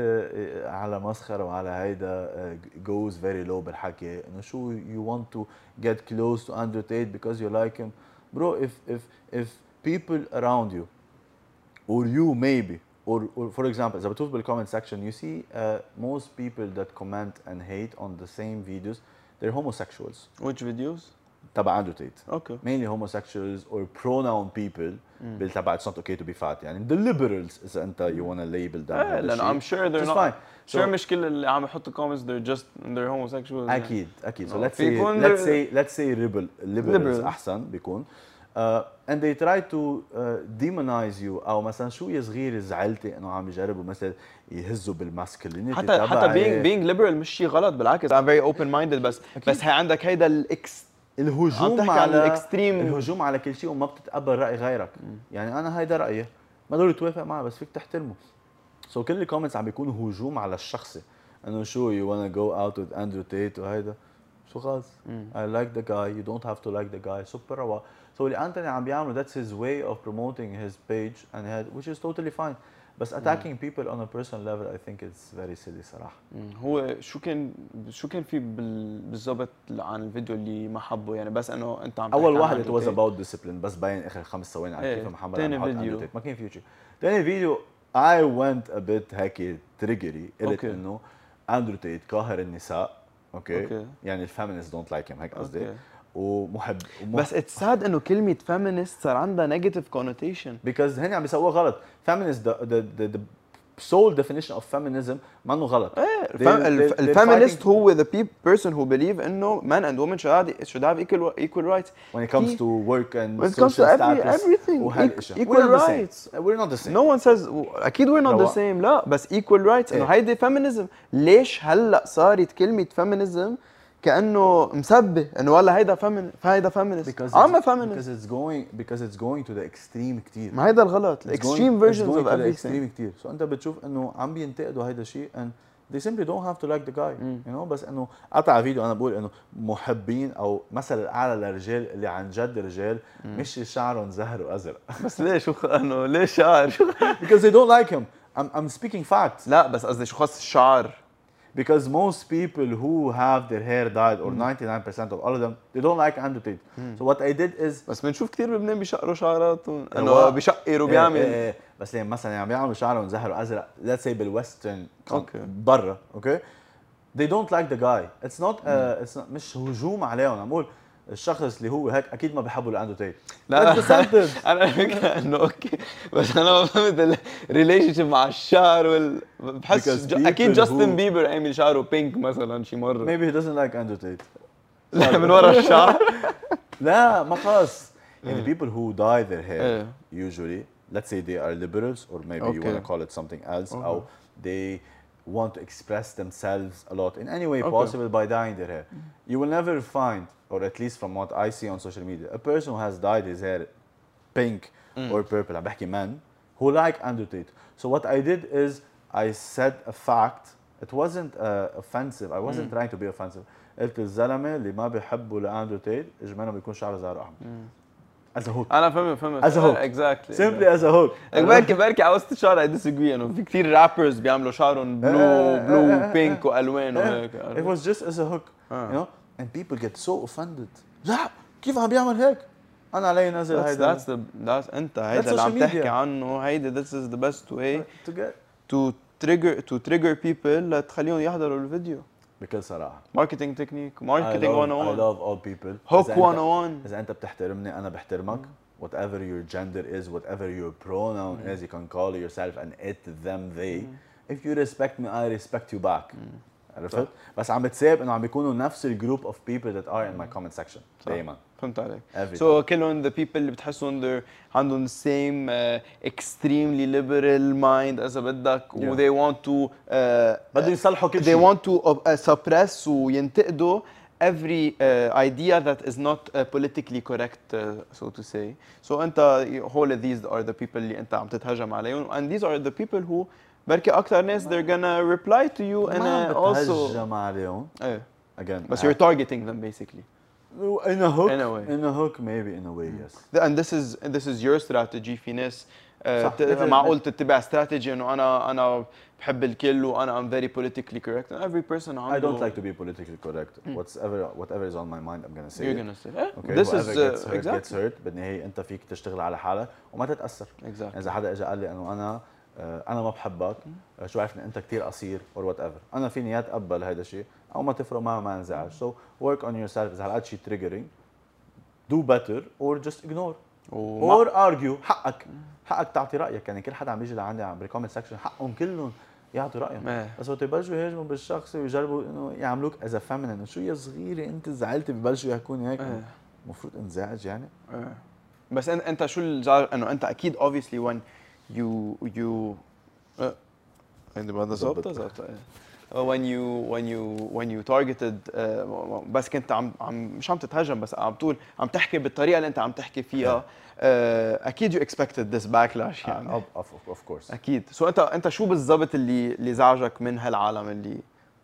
على مسخره وعلى هيدا goes very low بالحكي انه شو you want to get close to Andrew Tate because you like him bro if if if people around you or you maybe or, or for example إذا بتشوف بالcomment section you see uh, most people that comment and hate on the same videos they're homosexuals. Which videos؟ تبع Andrew Tate. Okay. Mainly homosexuals or pronoun people. بالتبع it's not okay to be fat يعني the liberals إذا أنت you wanna label them. Yeah, لأن I'm sure they're just not. Fine. Sure مش كل اللي عم يحطوا comments they're just they're homosexuals. أكيد أكيد. So let's say let's say let's say liberal liberals أحسن بيكون. Uh, and they try to uh, demonize you أو مثلا شوية صغير زعلتي إنه عم يجربوا مثلا يهزوا بالماسكلينيتي حتى حتى being being liberal مش شيء غلط بالعكس I'm very open minded بس أكيد. بس هي عندك هيدا الإكس الهجوم على الاكستريم الهجوم على كل شيء وما بتتقبل راي غيرك. مم. يعني انا هيدا رايي ما ضروري توافق معه بس فيك تحترمه. سو so كل الكومنتس عم بيكونوا هجوم على الشخصي انه شو you wanna go out with Andrew Tate وهيدا شو خلص I like the guy you don't have to like the guy سوبر روا. so اللي انتوني عم بيعمله that's his way of promoting his page and had, which is totally fine. بس attacking mm. people on a personal level I think it's very silly صراحة. mm. هو شو كان شو كان في بالضبط عن الفيديو اللي ما حبه يعني بس انه انت عم اول واحد it was about discipline بس باين اخر خمس ثواني على كيف محمد ثاني فيديو ما كان في شيء. ثاني فيديو I went a bit هيك تريجري قلت انه اندرو تيت قاهر النساء اوكي okay. يعني الفيمينست دونت لايك هيم هيك قصدي okay. ومحب, ومحب بس اتس ساد انه كلمه فيمينست صار عندها نيجاتيف كونوتيشن بيكوز هن عم بيسووها غلط. فيمينست ذا ذا sole definition of feminism ما انه غلط. ايه الفيمينست هو the person who believe انه men and women should have, should have equal equal rights when it comes to work and when it comes to every, everything equal we're rights we're not the same no one says اكيد we're not the same لا بس equal rights انه هيدي feminism. ليش هلا صارت كلمه feminism كانه مسبه انه والله هيدا فيمين هيدا فيمينست I'm a feminist because it's going because it's going to the extreme كثير. ما هيدا الغلط الاكستريم versions of everything كثير. سو انت بتشوف انه عم بينتقدوا هيدا الشيء and they simply don't have to like the guy mm. you know. بس انه قطع فيديو انا بقول انه محبين او مثل الاعلى للرجال اللي عن جد رجال mm. مش شعرهم زهر وازرق بس ليش شو انه ليش شعر because they don't like him. I'm I'm speaking facts. لا بس قصدي شو خص الشعر because most people who have their hair dyed or ninety-nine percent of all of them they don't like Andrew Tate. so what I did is بس بنشوف كثير بلبنان بيشقروا شعراتهم انه بيشقروا بيعمل ايه ايه بس لما مثلا عم بيعملوا شعرهم زهر وازرق let's say بالويسترن برا اوكي they don't like the guy. it's not uh, it's not مش هجوم عليهم. عم بقول الشخص اللي هو هيك اكيد ما بيحبوا لاندرو تيت. لا انا فكره انه اوكي بس انا ما فهمت الريليشن شيب مع الشعر وال بحس اكيد جاستن بيبر عامل شعره بينك مثلا شي مره maybe he doesn't like اندرو تيت. لا من ورا الشعر لا ما خلص يعني people who dye their hair usually let's say they are liberals or maybe okay. you want to call it something else okay. or they want to express themselves a lot in any way okay. possible by dyeing their hair. You will never find, or at least from what I see on social media, a person who has dyed his hair pink mm. or purple. I'm talking men who like Andrew Tate. So what I did is I said a fact. It wasn't uh, offensive. I wasn't mm. trying to be offensive. قلت الزلمه اللي ما بيحبوا لاندرو تيت اجمالا بيكون شعره زهر احمر. as a hook. انا فاهم فاهم as a hook exactly simply as a hook. بركي بركي على وسط الشعر I disagree انه في كثير رابرز بيعملوا شعرهم بلو بلو بينك والوان وهيك. It was just as a hook you know and people get so offended. لا كيف عم بيعمل هيك؟ انا علي نزل هيدا. That's the that's انت هيدا اللي عم تحكي عنه. هيدا this is the best way to get to trigger to trigger people لتخليهم يحضروا الفيديو. بكل صراحة marketing technique marketing one oh one. I love all people. hook one oh one. إذا أنت بتحترمني أنا بحترمك. mm. whatever your gender is, whatever your pronoun mm. is, you can call yourself and it, them, they. mm. If you respect me, I respect you back. عرفت؟ بس عم بتساب إنه عم بيكونوا نفس الجروب of people that are in my comment section دايماً. فهمت عليك. So كلهم the people اللي بتحسهم they're عندهم the same uh, extremely liberal mind إذا بدك yeah. و they want to uh, بدهم يصلحوا كل شيء. They want to uh, suppress وينتقدوا every uh, idea that is not uh, politically correct uh, so to say. So أنت all of these are the people اللي أنت عم تتهجم عليهم and these are the people who بركي أكتر ناس they're gonna reply to you and uh, also. ما بتهجم عليهم. إيه. Again. But you're targeting them basically. In a hook, in a way, in a hook, maybe in a way, yes. And this is this is your strategy. في ناس معقول تتبع strategy إنه أنا أنا بحب الكل وأنا I'm very politically correct. And every person عنده. I don't like to be politically correct. Mm. Whatever whatever is on my mind, I'm gonna say. You're it. gonna say. Eh? Okay. This Whoever is gets uh, hurt exactly. gets hurt. بالنهاية أنت فيك تشتغل على حالك وما تتأثر. Exactly. إذا حدا إجا قال لي إنه أنا أنا ما بحبك، شو عرفني أنت كتير قصير or whatever. أنا فيني يا أتقبل هذا الشيء أو ما تفرق معه ما انزعج. So work on yourself. إذا هالقد شيء triggering. do better or just ignore or argue. حقك حقك تعطي رايك. يعني كل حدا عم بيجي لعندي عم بالكومنت سكشن حقهم كلهم يعطوا رايهم. بس وقت يبلشوا يهاجموا بالشخص ويجربوا انه يعملوك از فيمينين شو يا صغيره انت زعلتي ببلشوا يحكوني هيك المفروض انزعج يعني. بس انت شو الزعل انه انت اكيد obviously when you you عندي بعد ظبطه ظبطه when you when you when you targeted uh, بس كنت عم عم مش عم تتهجم بس عم تقول عم تحكي بالطريقه اللي انت عم تحكي فيها uh, اكيد you expected this backlash يعني of, of, of course اكيد. سو so انت انت شو بالضبط اللي اللي زعجك من هالعالم اللي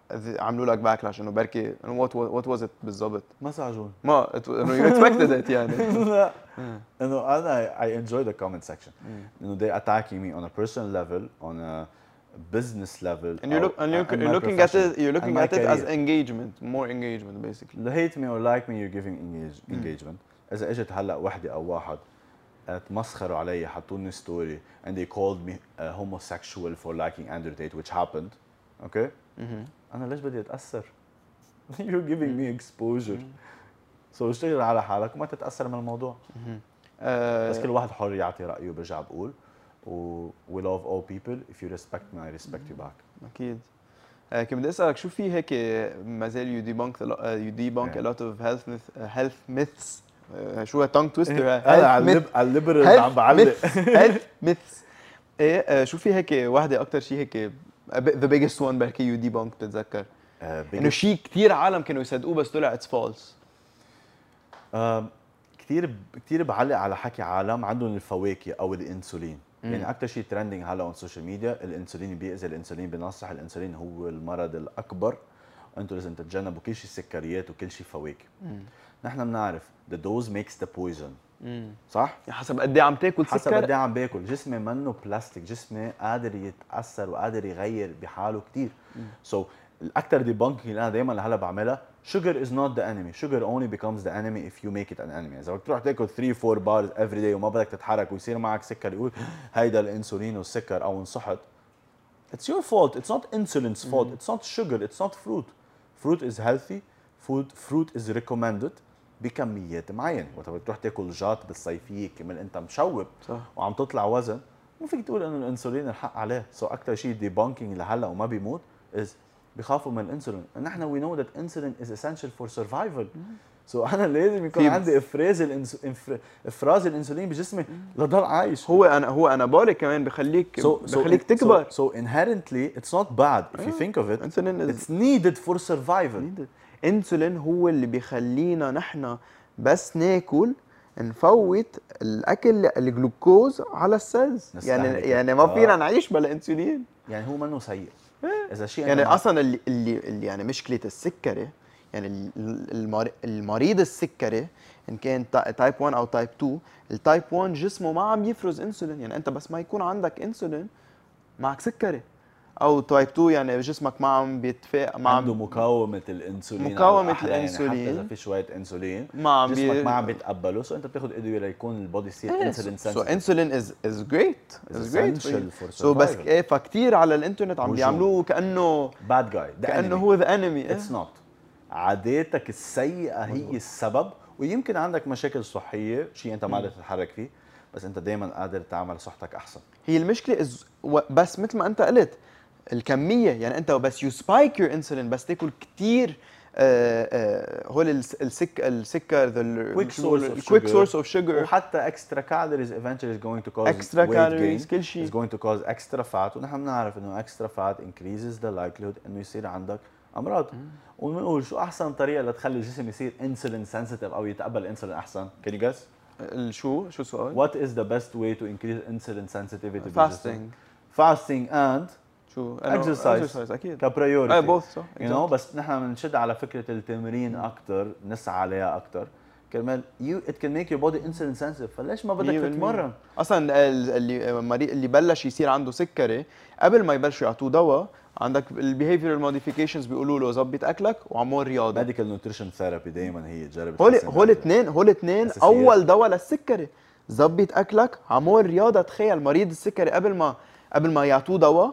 عملوا لك باكلاش انه بركي وات وات واز ات بالضبط؟ ما ساعدوني. ما انه يو اكسبكتد ات يعني. لا انه انا I enjoy the comment section انه they attacking me on a personal level on a business level and you look and you're, you're looking at it you're looking at it as engagement, more engagement basically. hate me or like me you're giving engage, engagement. اذا اجت هلا وحده او واحد تمسخروا علي حطوني ستوري and they called me uh, homosexual for liking Andrew Tate which happened okay انا ليش بدي اتاثر؟ you're giving me exposure so اشتغل على حالك وما تتاثر من الموضوع. بس كل واحد حر يعطي رايه. برجع بقول و we love all people if you respect me I respect you back. اكيد. كنت بدي اسالك شو في هيك ما زال you debunk you debunk a lot of health myth, health myths. شو تانج تويستر؟ انا على الليبرالز عم بعلق health myths. ايه شو في هيك وحده اكثر شيء هيك the biggest one بركي يو debunk بتتذكر؟ انه شيء كثير عالم كانوا يصدقوه بس طلع اتس فولس. كثير كثير بعلق على حكي عالم عندهم الفواكه او الانسولين. مم. يعني اكثر شيء ترندنج هلا على السوشيال ميديا الانسولين بيأذي، الانسولين بينصح، الانسولين هو المرض الاكبر، انتم لازم تتجنبوا كل شيء سكريات وكل شيء فواكه. نحن بنعرف the dose makes the poison. مم. صح؟ حسب قد ايه عم تاكل سكر، حسب قد ايه عم باكل. جسمي منه بلاستيك، جسمي قادر يتاثر وقادر يغير بحاله كثير. سو so, الاكثر ديبانكينج اللي انا دائما لهلا بعملها sugar is not the enemy. Sugar only becomes the enemy if you make it an enemy. اذا بدك تروح تاكل ثلاثة أربعة بارز every day وما بدك تتحرك ويصير معك سكر يقول هيدا الانسولين والسكر او انصحت. It's your fault. It's not insulin's fault. It's not sugar. It's not fruit. Fruit is healthy. Food fruit is recommended بكميات معينه. وقت بدك تروح تاكل جات بالصيفيه كمان انت مشوب صح وعم تطلع وزن، مو فيك تقول انه الانسولين الحق عليه. سو so اكثر شيء ديبانكينج لهلا وما بيموت از بخافوا من الانسولين. نحن وي نو ذات انسولين از اسينشال فور سرفايفل. سو انا لازم يكون عندي افراز الانس... افراز الانسولين بجسمي لضل عايش. هو انا هو انابوليك كمان بخليك so, بخليك so, تكبر. سو so, so inherently it's not bad if you think of it. It's needed for survival. انسولين هو اللي بيخلينا نحن بس ناكل نفوت الاكل الجلوكوز على السيلز. يعني يعني ما فينا نعيش بلا انسولين. يعني هو منه سيء اذا شيء يعني اصلا اللي اللي, اللي يعني مشكله السكري، يعني المريض السكري ان كان تايب واحد او تايب اثنين، التايب واحد جسمه ما عم يفرز انسولين. يعني انت بس ما يكون عندك انسولين معك سكري. او تايب اثنين يعني جسمك ما عم بيتفاق، ما عنده مقاومه الانسولين، مقاومه الانسولين. يعني حتى اذا في شويه انسولين ما عم جسمك بي... ما عم بيتقبله. سو انت بتاخذ ادويه ليكون البودي يصير انسولين سنسيتيف. سو انسولين از از جريت از جريت سو بس ايه فكتير على الانترنت عم بيعملوه كانه باد جاي، كانه هو ذا انمي. اتس نوت. عاداتك السيئه هي السبب، ويمكن عندك مشاكل صحيه شيء انت ما قادر تتحرك فيه، بس انت دائما قادر تعمل صحتك احسن. هي المشكله إز... بس مثل ما انت قلت الكميه. يعني انت بس يو سبايك يور انسولين، بس تاكل كثير هول السك السكر الكويك سورس اوف شوجر، وحتى اكسترا كالوريز eventually is going to cause extra calories كل شيء is going to cause extra fat. ونحن بنعرف انه extra fat increases the likelihood انه يصير عندك امراض. وبنقول شو احسن طريقه لتخلي الجسم يصير انسولين سنسيتيف او يتقبل الانسولين احسن؟ can you guess؟ شو شو السؤال؟ what is the best way to increase insulin sensitivity؟ fasting fasting and شو exercise اكيد كبريورتي. اي بوث صح يو نو. بس نحن بنشد على فكره التمرين اكثر، نسعى عليها اكثر كرمال يو ات كان ميك يور بودي انسولين سنسيتيف. فليش ما بدك تتمرن؟ اصلا اللي المريض اللي بلش يصير عنده سكري قبل ما يبلشوا يعطوه دواء، عندك البيهيفيرال موديفيكيشنز بيقولوا له ظبط اكلك وعمل رياضه. ميديكال نيوتريشن ثيرابي دائما هي تجرب. هول هول اثنين هول اثنين اول دواء للسكري. ظبط اكلك، عمل رياضه. تخيل مريض السكري قبل ما قبل ما يعطوه دواء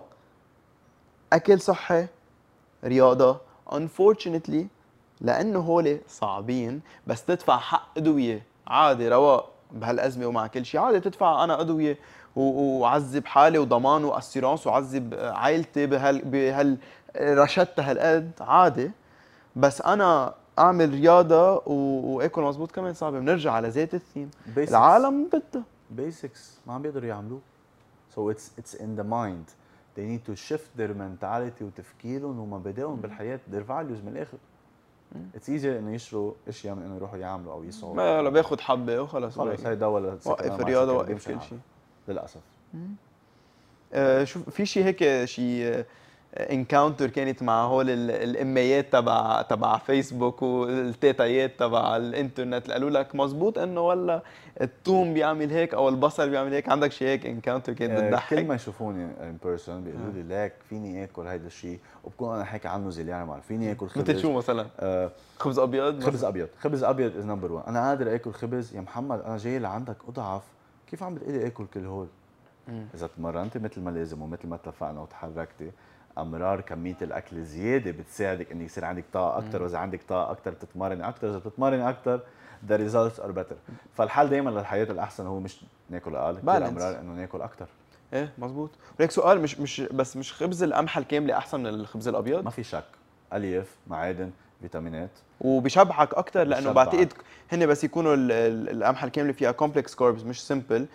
اكل صحي رياضه. unfortunately لانه هول صعبين، بس تدفع حق ادويه عادي رواق بهالازمه ومع كل شيء عادي تدفع انا ادويه وعذب حالي وضمان واسيرانس وعذب عائلتي بهال بهال رشدتها هالقد عادي. بس انا اعمل رياضه واكل مزبوط كمان صعبه. بنرجع على ذات الثيم. العالم بدها بيسكس ما عم بيقدروا يعملوه. so it's it's in the mind. they need to shift their mentality وتفكيرهم ومبادئهم بالحياه، their values من الاخر. it's easier انه يشروا اشياء من انه يروحوا يعملوا او يسووا. ما لا بياخذ حبه وخلص خلص هي دواء وقف الرياضه وقف كل شيء للاسف. آه شوف في شيء هيك شيء انكاونتر كانت مع هول ال- الاميات تبع تبع فيسبوك والتيتايات تبع الانترنت اللي قالوا لك مزبوط انه والله الثوم بيعمل هيك او البصل بيعمل هيك؟ عندك شيء هيك انكاونتر كانت آه، كل بتضحك؟ ما يشوفوني ان بيرسون بيقولوا لي ليك فيني اكل هيدا الشيء، وبكون انا حكي عنه زليان مره، فيني اكل خبز. مثل شو مثلا؟ آه خبز ابيض خبز مثلاً؟ ابيض، خبز ابيض از نمبر واحد. انا قادر اكل خبز يا محمد، انا جاي لعندك اضعف، كيف عم بتقولي اكل كل هول؟ مم. اذا تمرنتي مثل ما لازم ومثل ما اتفقنا وتحركتي، امرار كميه الاكل زياده بتساعدك انك يصير عندك طاقه اكثر، واذا عندك طاقه اكثر بتتمرني اكثر، اذا بتتمرني اكثر the results are better. فالحل دائما للحياه الاحسن هو مش ناكل اقل، كثير Balance. امرار انه ناكل اكثر. ايه مزبوط. وليك سؤال، مش مش بس مش خبز القمحه الكامله احسن من الخبز الابيض؟ ما في شك، الياف، معادن، فيتامينات، وبيشبعك اكثر لانه بيشبعك. بعتقد هن بس يكونوا ال- ال- القمحه الكامله فيها كومبلكس كاربز مش سمبل،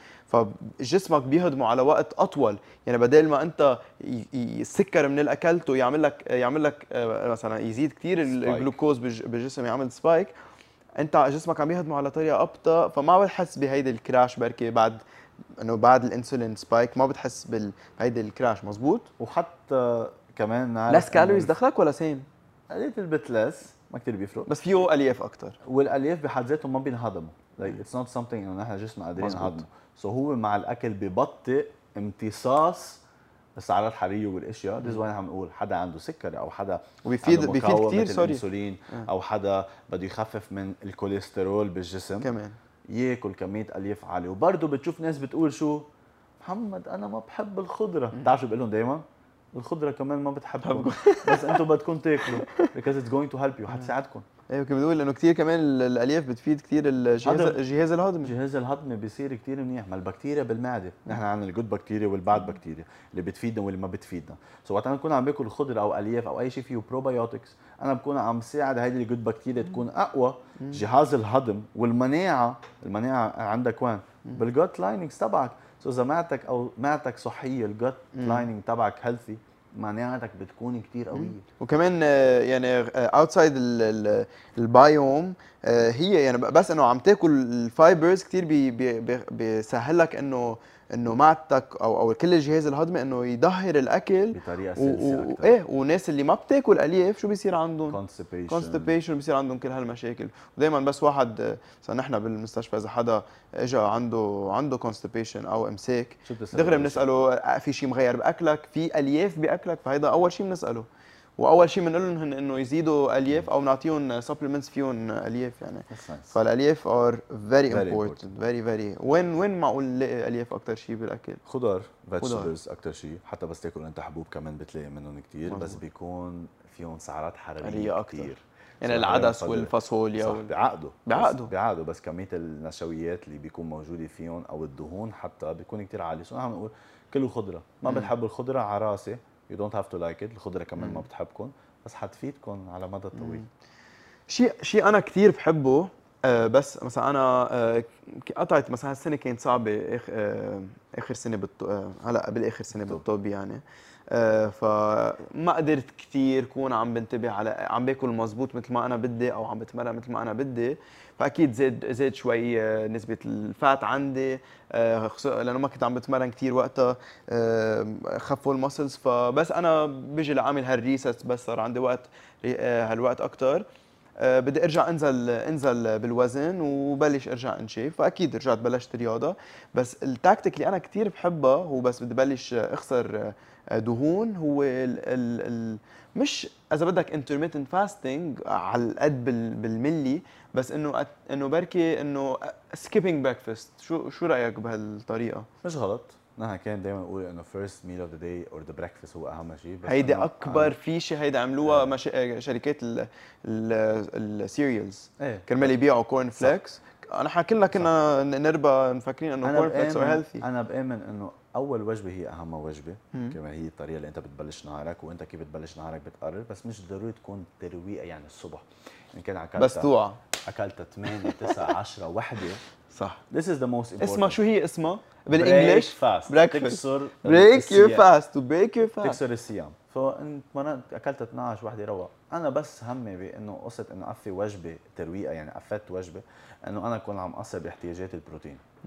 فجسمك بيهضموا على وقت اطول. يعني بدل ما انت ي- ي- السكر من اللي اكلته يعمل لك يعمل لك آه، مثلا يزيد كثير الجلوكوز بالج- بالجسم، يعمل سبايك، انت جسمك عم يهضمه على طريقه ابطا، فما بتحس بهيدي الكراش بركي بعد انه بعد الانسولين سبايك ما بتحس بال- بهيدي الكراش. مزبوط. وحتى كمان نعرف لس كالوريز دخلك ولا سيم؟ قليل البت لس، ما كثير بيفرق. بس فيه الياف اكثر. والالياف بحد ذاتهم ما بينهضموا، like it's not something انه نحن جسمنا قادرين مزبوط. نهضمه، سو so هو مع الاكل ببطئ امتصاص السعرات الحراريه والاشياء. ذيز وين عم نقول حدا عنده سكر او حدا وبيفيد عنده بيفيد مقاومة كثير سوري الانسولين، او حدا بده يخفف من الكوليسترول بالجسم، كمان ياكل كميه الياف عاليه. وبرضه بتشوف ناس بتقول شو محمد انا ما بحب الخضره، بتعرف شو بقول لهم دائما؟ الخضره كمان ما بتحبكم بس انتم بدكم تاكلوا because it's going to help you، حتساعدكم. ايوه كنت بقول انه كثير كمان ال- الالياف بتفيد كثير الجهاز هذا- الجهاز الهضمي. الجهاز الهضمي بيصير كثير منيح، ما البكتيريا بالمعده، نحن عندنا الجود بكتيريا والباد بكتيريا اللي بتفيدنا واللي ما بتفيدنا. سو وقت انا بكون عم باكل خضره او الياف او اي شيء فيه بروبايوتكس، انا بكون عم ساعد هيدي الجود بكتيريا تكون اقوى. جهاز الهضم والمناعه، المناعه عندك وين؟ بالجوت لايننج تبعك. سو اذا معدتك او معدتك صحيه، الجوت لايننج تبعك هيلثي، مناعتك بتكون كثير قويه. وكمان آه، يعني اوتسايد البايوم هي يعني بس انه عم تاكل الفايبرز كثير بي بي بي- بيسهل لك انه انه معدتك او او كل الجهاز الهضمي انه يظهر الاكل بطريقه و- سلسه و- اكثر. ايه. وناس اللي ما بتاكل الياف شو بيصير عندهم؟ كونستيبيشن كونستيبيشن، بيصير عندهم كل هالمشاكل. ودائما بس واحد آه، مثلا نحن بالمستشفى اذا حدا اجى عنده عنده كونستيبيشن او امساك، شو بتسأله دغري أول بنساله آه، في شيء مغير باكلك؟ في الياف باكلك؟ فهيدا اول شيء بنساله. واول شيء بنقول لهم انه يزيدوا الياف او بنعطيهم سبلمنتس فيهم الياف يعني. That's nice. فالالياف ار فيري Very امبورتنت، فيري فيري. وين وين معقول نلاقي الياف اكثر شيء بالاكل؟ خضار، خضار. فيجيتابلز اكثر شيء، حتى بس تاكل انت حبوب كمان بتلاقي منهم كثير، بس مظبوط. بيكون فيهم سعرات حراريه حرارية أكتر. كثير. يعني العدس والفاصوليا صح وال... بيعقدوا بيعقدوا. بس بيعقدوا بس كميه النشويات اللي بيكون موجوده فيهم او الدهون حتى بيكون كثير عالي. سو نحن بنقول كلوا خضره، ما بتحبوا الخضره على راسي، يو دونت هاف تو لايك ات، الخضره كمان ما بتحبكم بس حتفيدكم على مدى طويل. شيء شيء انا كثير بحبه آه، بس مثلا انا آه، قطعت مثلا هالسنه كانت صعبه آخ- آه، اخر سنه بالط... آه، هلا قبل اخر سنه بالطب. بالطب يعني. آه، فما قدرت كثير كون عم بنتبه على عم باكل مزبوط مثل ما انا بدي او عم بتمرن مثل ما انا بدي. فاكيد زاد زاد شوي آه، نسبه الفات عندي، آه، خصو- لانه ما كنت عم بتمرن كثير وقتها، آه، خفوا المسلز. فبس انا بيجي لعامل هالريست بس صار عندي وقت آه، هالوقت اكثر. آه، بدي ارجع انزل انزل بالوزن وبلش ارجع انشيف. فاكيد رجعت بلشت رياضه. بس التاكتيك اللي انا كثير بحبها هو بس بدي بلش اخسر آه، دهون، هو ال ال ال مش اذا بدك intermittent fasting على القد بال- بالملي، بس انه أت- انه بركي انه skipping breakfast. شو شو رايك بهالطريقه؟ مش غلط، نحن كان دائما نقول انه first meal of the day or the breakfast هو اهم شيء. بس هيدي إنه اكبر أنا- فيشه هيدا عملوها مش... شركات السيريالز ايه كرمال يبيعوا كورن فليكس. انا كلنا كنا نربى مفكرين انه انا كورن فليكس ار بآمن هيلثي. انا بآمن انه اول وجبه هي اهم وجبه، مم. كما هي الطريقه اللي انت بتبلش نهارك، وانت كيف بتبلش نهارك بتقرر، بس مش ضروري تكون ترويقه يعني الصبح. ان كان اكلت بس توعى. اكلت ثمانية تسعة عشرة وحده، صح. this is the most important. اسمها شو هي اسمها بالانجلش؟ fast. breakfast. تكسر بريك يور الصيام. فاست تو بريك يور فاست. تكسر الصيام. فانت مرات اكلت اثنعش وحده روق. انا بس همي بانه قصه انه قفي وجبه ترويقه، يعني قفلت وجبه انه انا اكون عم اقصر باحتياجات البروتين.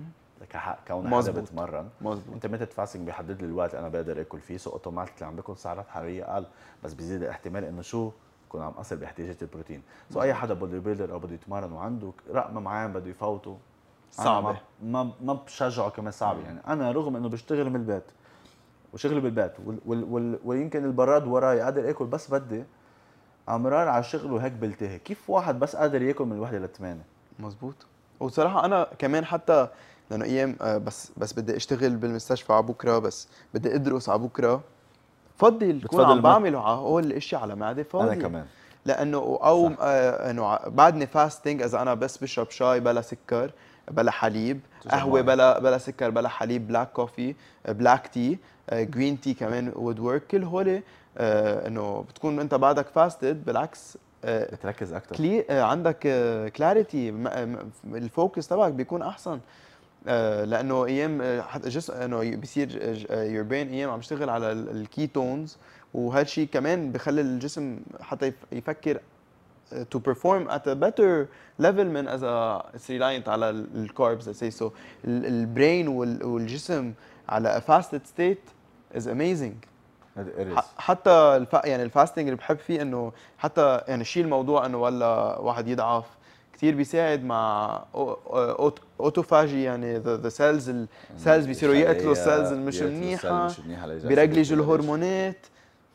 كحق كون حدا مظبوط. بتمرن. مظبوط. انترميتنت فاستنج بيحدد لي الوقت انا بقدر اكل فيه، سو اوتوماتيكلي عم بكون سعرات حراريه اقل، بس بيزيد الاحتمال انه شو يكون عم اثر باحتياجات البروتين. سو اي حدا بودي بيلدر او بده يتمرن وعنده رقم معين بده يفوته صعبة. ما ما ما بشجعه كمان صعبه. يعني انا رغم انه بشتغل من البيت وشغلي بالبيت وال وال وال ويمكن البراد وراي قادر اكل بس بدي امرار على الشغل وهيك بلتهي، كيف واحد بس قادر ياكل من الوحده للثمانيه؟ مزبوط. وصراحة أنا كمان حتى لأنه أيام آه، بس بس بدي أشتغل بالمستشفى على بكرة، بس بدي أدرس على بكرة، بفضل كون بتفضل عم ما- بعمل على هول الأشياء على معدة فاضية. انا كمان لأنه أو صح. آه، إنه ع- بعدني فاستنج إذا أنا بس بشرب شاي بلا سكر بلا حليب، تشرب قهوة مي. بلا بلا سكر بلا حليب، بلاك كوفي، بلاك تي، جرين تي كمان وود ورك، كل هول آه، إنه بتكون أنت بعدك فاستد بالعكس آه، بتركز اكثر. كلي آه، عندك كلاريتي، الفوكس تبعك بيكون احسن. آه، لانه ايام آه، حتى جسم انه بيصير يور برين ايام عم يشتغل على الكيتونز، وهالشيء كمان بخلي الجسم حتى يف- يفكر uh, to perform at a better level من اذا it's reliant على الكاربز let's say. so البرين والجسم على a fasted state is amazing. هذا إرس. ح- حتى الف... يعني الفاستنج اللي بحب فيه انه حتى يعني شيل الموضوع انه ولا واحد يضعف، كثير بيساعد مع أوت... اوتوفاجي، يعني ذا سيلز السيلز بيصيروا يقتلوا السيلز المش منيحه، بيرجلجوا الهرمونات.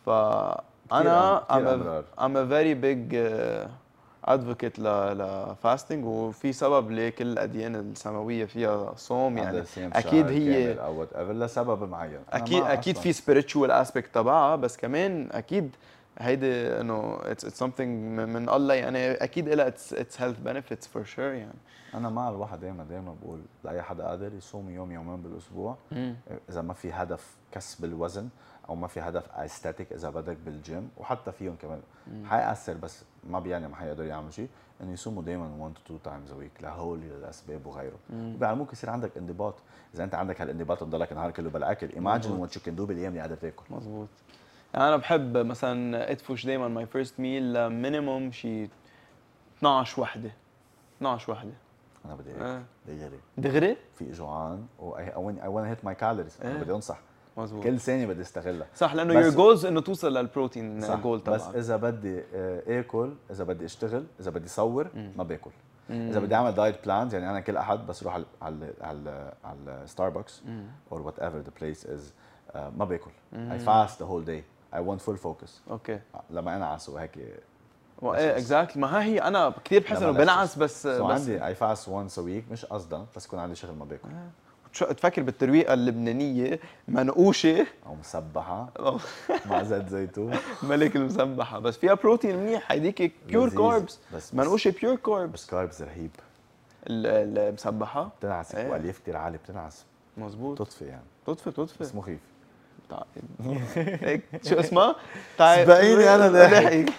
فانا كتير I'm a, أمرار. I'm a very big uh, advocate ل لفاستنج، وفي سبب ليه كل الاديان السماويه فيها صوم يعني. اكيد هي او وات ايفر لسبب معين. أنا اكيد ما اكيد أصلاً. في spiritual aspect تبعها، بس كمان اكيد هيدي انه it's, it's something من من الله يعني، اكيد لها its, its health benefits for sure يعني. انا مع الواحد دائما دائما بقول لاي حدا قادر يصوم يوم يومين بالاسبوع، اذا ما في هدف كسب الوزن او ما في هدف استاتيك اذا بدك بالجيم، وحتى فيهم كمان حيأثر بس ما بيعني ما حيقدر يعمل شيء، انه يصوموا دائما واحد تو اتنين تايمز ا ويك لهول الاسباب وغيره، وبيعلموك يصير عندك انضباط. اذا انت عندك هالانضباط تضلك النهار كله بالاكل، ايماجن وات يو كان دو بالايام اللي قادر تاكل. مزبوط. يعني انا بحب مثلا ادفش دائما ماي فيرست ميل مينيموم شي اثنعش وحده اثنعش وحده. انا بدي هيك آه. دغري دغري في جوعان و اي ونت هيت ماي كالوريز، انا إيه. بدي انصح مزبوط. كل ثانيه بدي استغلها. صح، لانه بس- يور جولز انه توصل للبروتين صح، جول تبعك. بس اذا بدي آه، اكل، اذا بدي اشتغل، اذا بدي صور مم. ما باكل. مم. اذا بدي اعمل دايت بلانز، يعني انا كل احد بس اروح على على على على ستاربكس مم. اور وات ايفر ذا بليس از، ما باكل. مم. اي فاست ذا هول داي، اي ونت فول فوكس. اوكي. لما انا عسو هيك ايه اكزاكتلي، ما ها هي انا كثير بحس انه لما بنعس بس سو بس عندي اي فاست وانس ا ويك، مش قصدا بس يكون عندي شغل ما باكل. شو تفكر بالترويقه اللبنانيه منقوشه او مسبحه مع زيت زيتون ملك المسبحه، بس فيها بروتين منيح، هيديك بيور لذيذ. كاربس، بس منقوشه بيور بس كاربس. كاربز رهيب، المسبحه بتنعس إيه. والياف كثير عالي، بتنعس مزبوط. تطفي يعني، تطفي بس تطفي مخيف. تعال. هيك شو اسمها؟ تعال سبقيني أنا لاحق.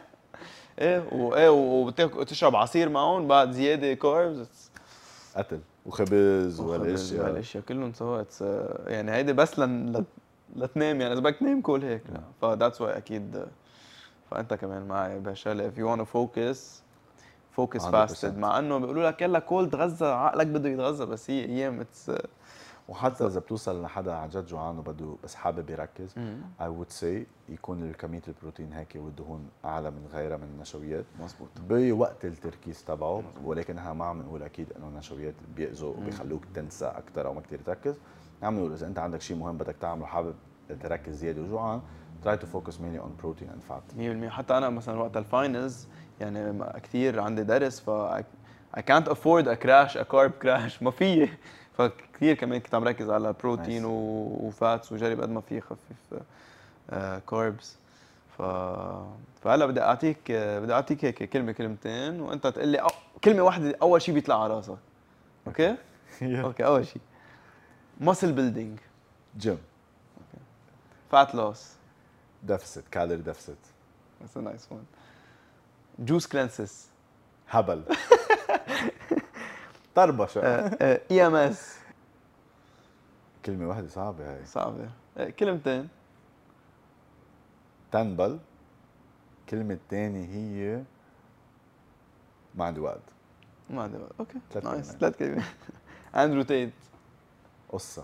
ايه وايه وتشرب عصير معهم بعد زياده كاربس، قتل وخبز والاشياء والاشياء. والاشياء كلهم سوا. يعني هيدي بس لن لت- لتنام يعني، اذا بدك تنام كل هيك. لا فذاتس واي اكيد. فانت كمان معي بهالشغله، if you wanna focus focus مية fasted، بالمية. مع انه بيقولوا لك يلا كول تغذى، عقلك بده يتغذى، بس هي ايام اتس وحتى اذا بتوصل لحدا عن جد جوعان وبده بس حابب يركز، I would say يكون كميه البروتين هيك والدهون اعلى من غيرها من النشويات مزبوط. بوقت التركيز تبعه، ولكنها ما عم نقول اكيد انه النشويات بيأذوا وبيخلوك تنسى اكثر او ما كثير تركز. عم نقول اذا انت عندك شيء مهم بدك تعمله حابب تركز زياده وجوعان، try to focus mainly on protein and fat. مية بالمية. حتى انا مثلا وقت الفاينلز يعني كثير عندي درس، ف I can't afford a crash a carb crash، ما في. فكثير كمان كنت عم ركز على بروتين Nice. وفاتس، وجرب قد ما في خفف كاربس. ف فهلا بدي اعطيك بدي اعطيك هيك كلمه كلمتين، وانت تقول لي أو... كلمه واحده اول شيء بيطلع على راسك. اوكي؟ اوكي. اول شيء muscle building، Gym. fat loss. deficit calorie deficit. That's a nice one. juice cleanses. هبل. طربشة. اي ام اس. كلمة واحدة صعبة هاي. صعبة. كلمتين. تنبل. كلمة الثانية هي ما عندي وقت. ما عندي وقت. اوكي ثلاث نايس. كلمات. ثلاث كلمات. اندرو تيت. قصه.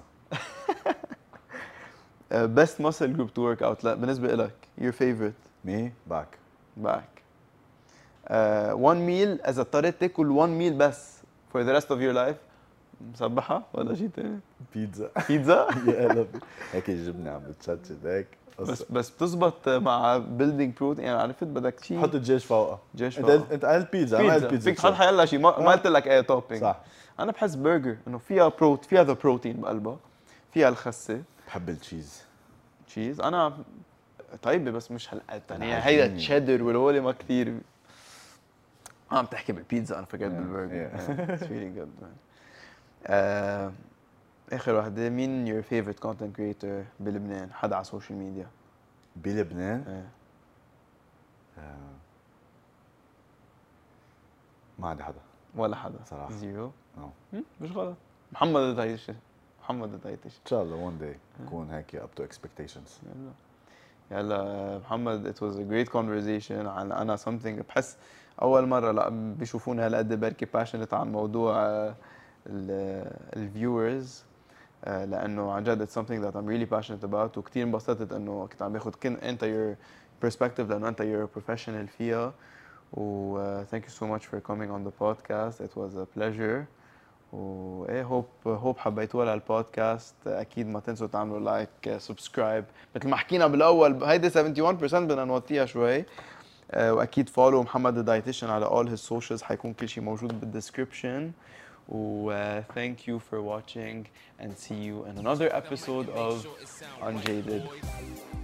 best muscle group to work out لا بالنسبه لك your favorite مي باك. back uh, one meal اذا اضطريت تاكل one meal بس for the rest of your life مسبحه ولا شيء ثاني؟ بيتزا. بيتزا. يا قلبي هيك الجبنه عم بتشتت هيك بس بس بتزبط مع building protein يعني عرفت بدك شيء حط الدجاج فوقها. دجاج انت فوقها. انت قلت بيتزا انا قلت بيتزا فيك تحط حيلا شيء ما, ما قلت لك ايه توبينج. صح. انا بحس برجر انه فيها بروت فيها ذا بروتين بقلبها فيها الخسه. بحب التشيز. تشيز انا طيبه بس مش هالقد يعني العجينة. هيدا تشيدر والهولي ما كثير. عم تحكي بالبيتزا انا فكرت Yeah, بالبرجر. yeah. It's really good man. آه، اخر وحده مين your favorite content creator بلبنان حدا على السوشيال ميديا؟ بلبنان ايه آه. ما عندي حدا ولا حدا صراحة. زيرو. no. مش غلط. محمد الدايتش محمد الدايتش ان شاء الله one day نكون هيك up to expectations. يلا يلا محمد it was a great conversation عن انا something بحس اول مره لا بيشوفوني هالقد بركي passionate عن موضوع الفيورز لانه عن جد it's something that I'm really passionate about وكثير انبسطت انه كنت عم باخذ كن انت your perspective لانه انت you're a professional فيها و uh, thank you so much for coming on the podcast it was a pleasure و ايه هوب هوب حبيتوها للبودكاست اكيد ما تنسوا تعملوا لايك سبسكرايب مثل ما حكينا بالاول هيدي سبعة وسبعين بالمية بدنا نوطيها شوي واكيد فولو محمد الدايتيشن على all his socials حيكون كل شيء موجود بالدescription و uh, thank you for watching and see you in another episode of Unjaded.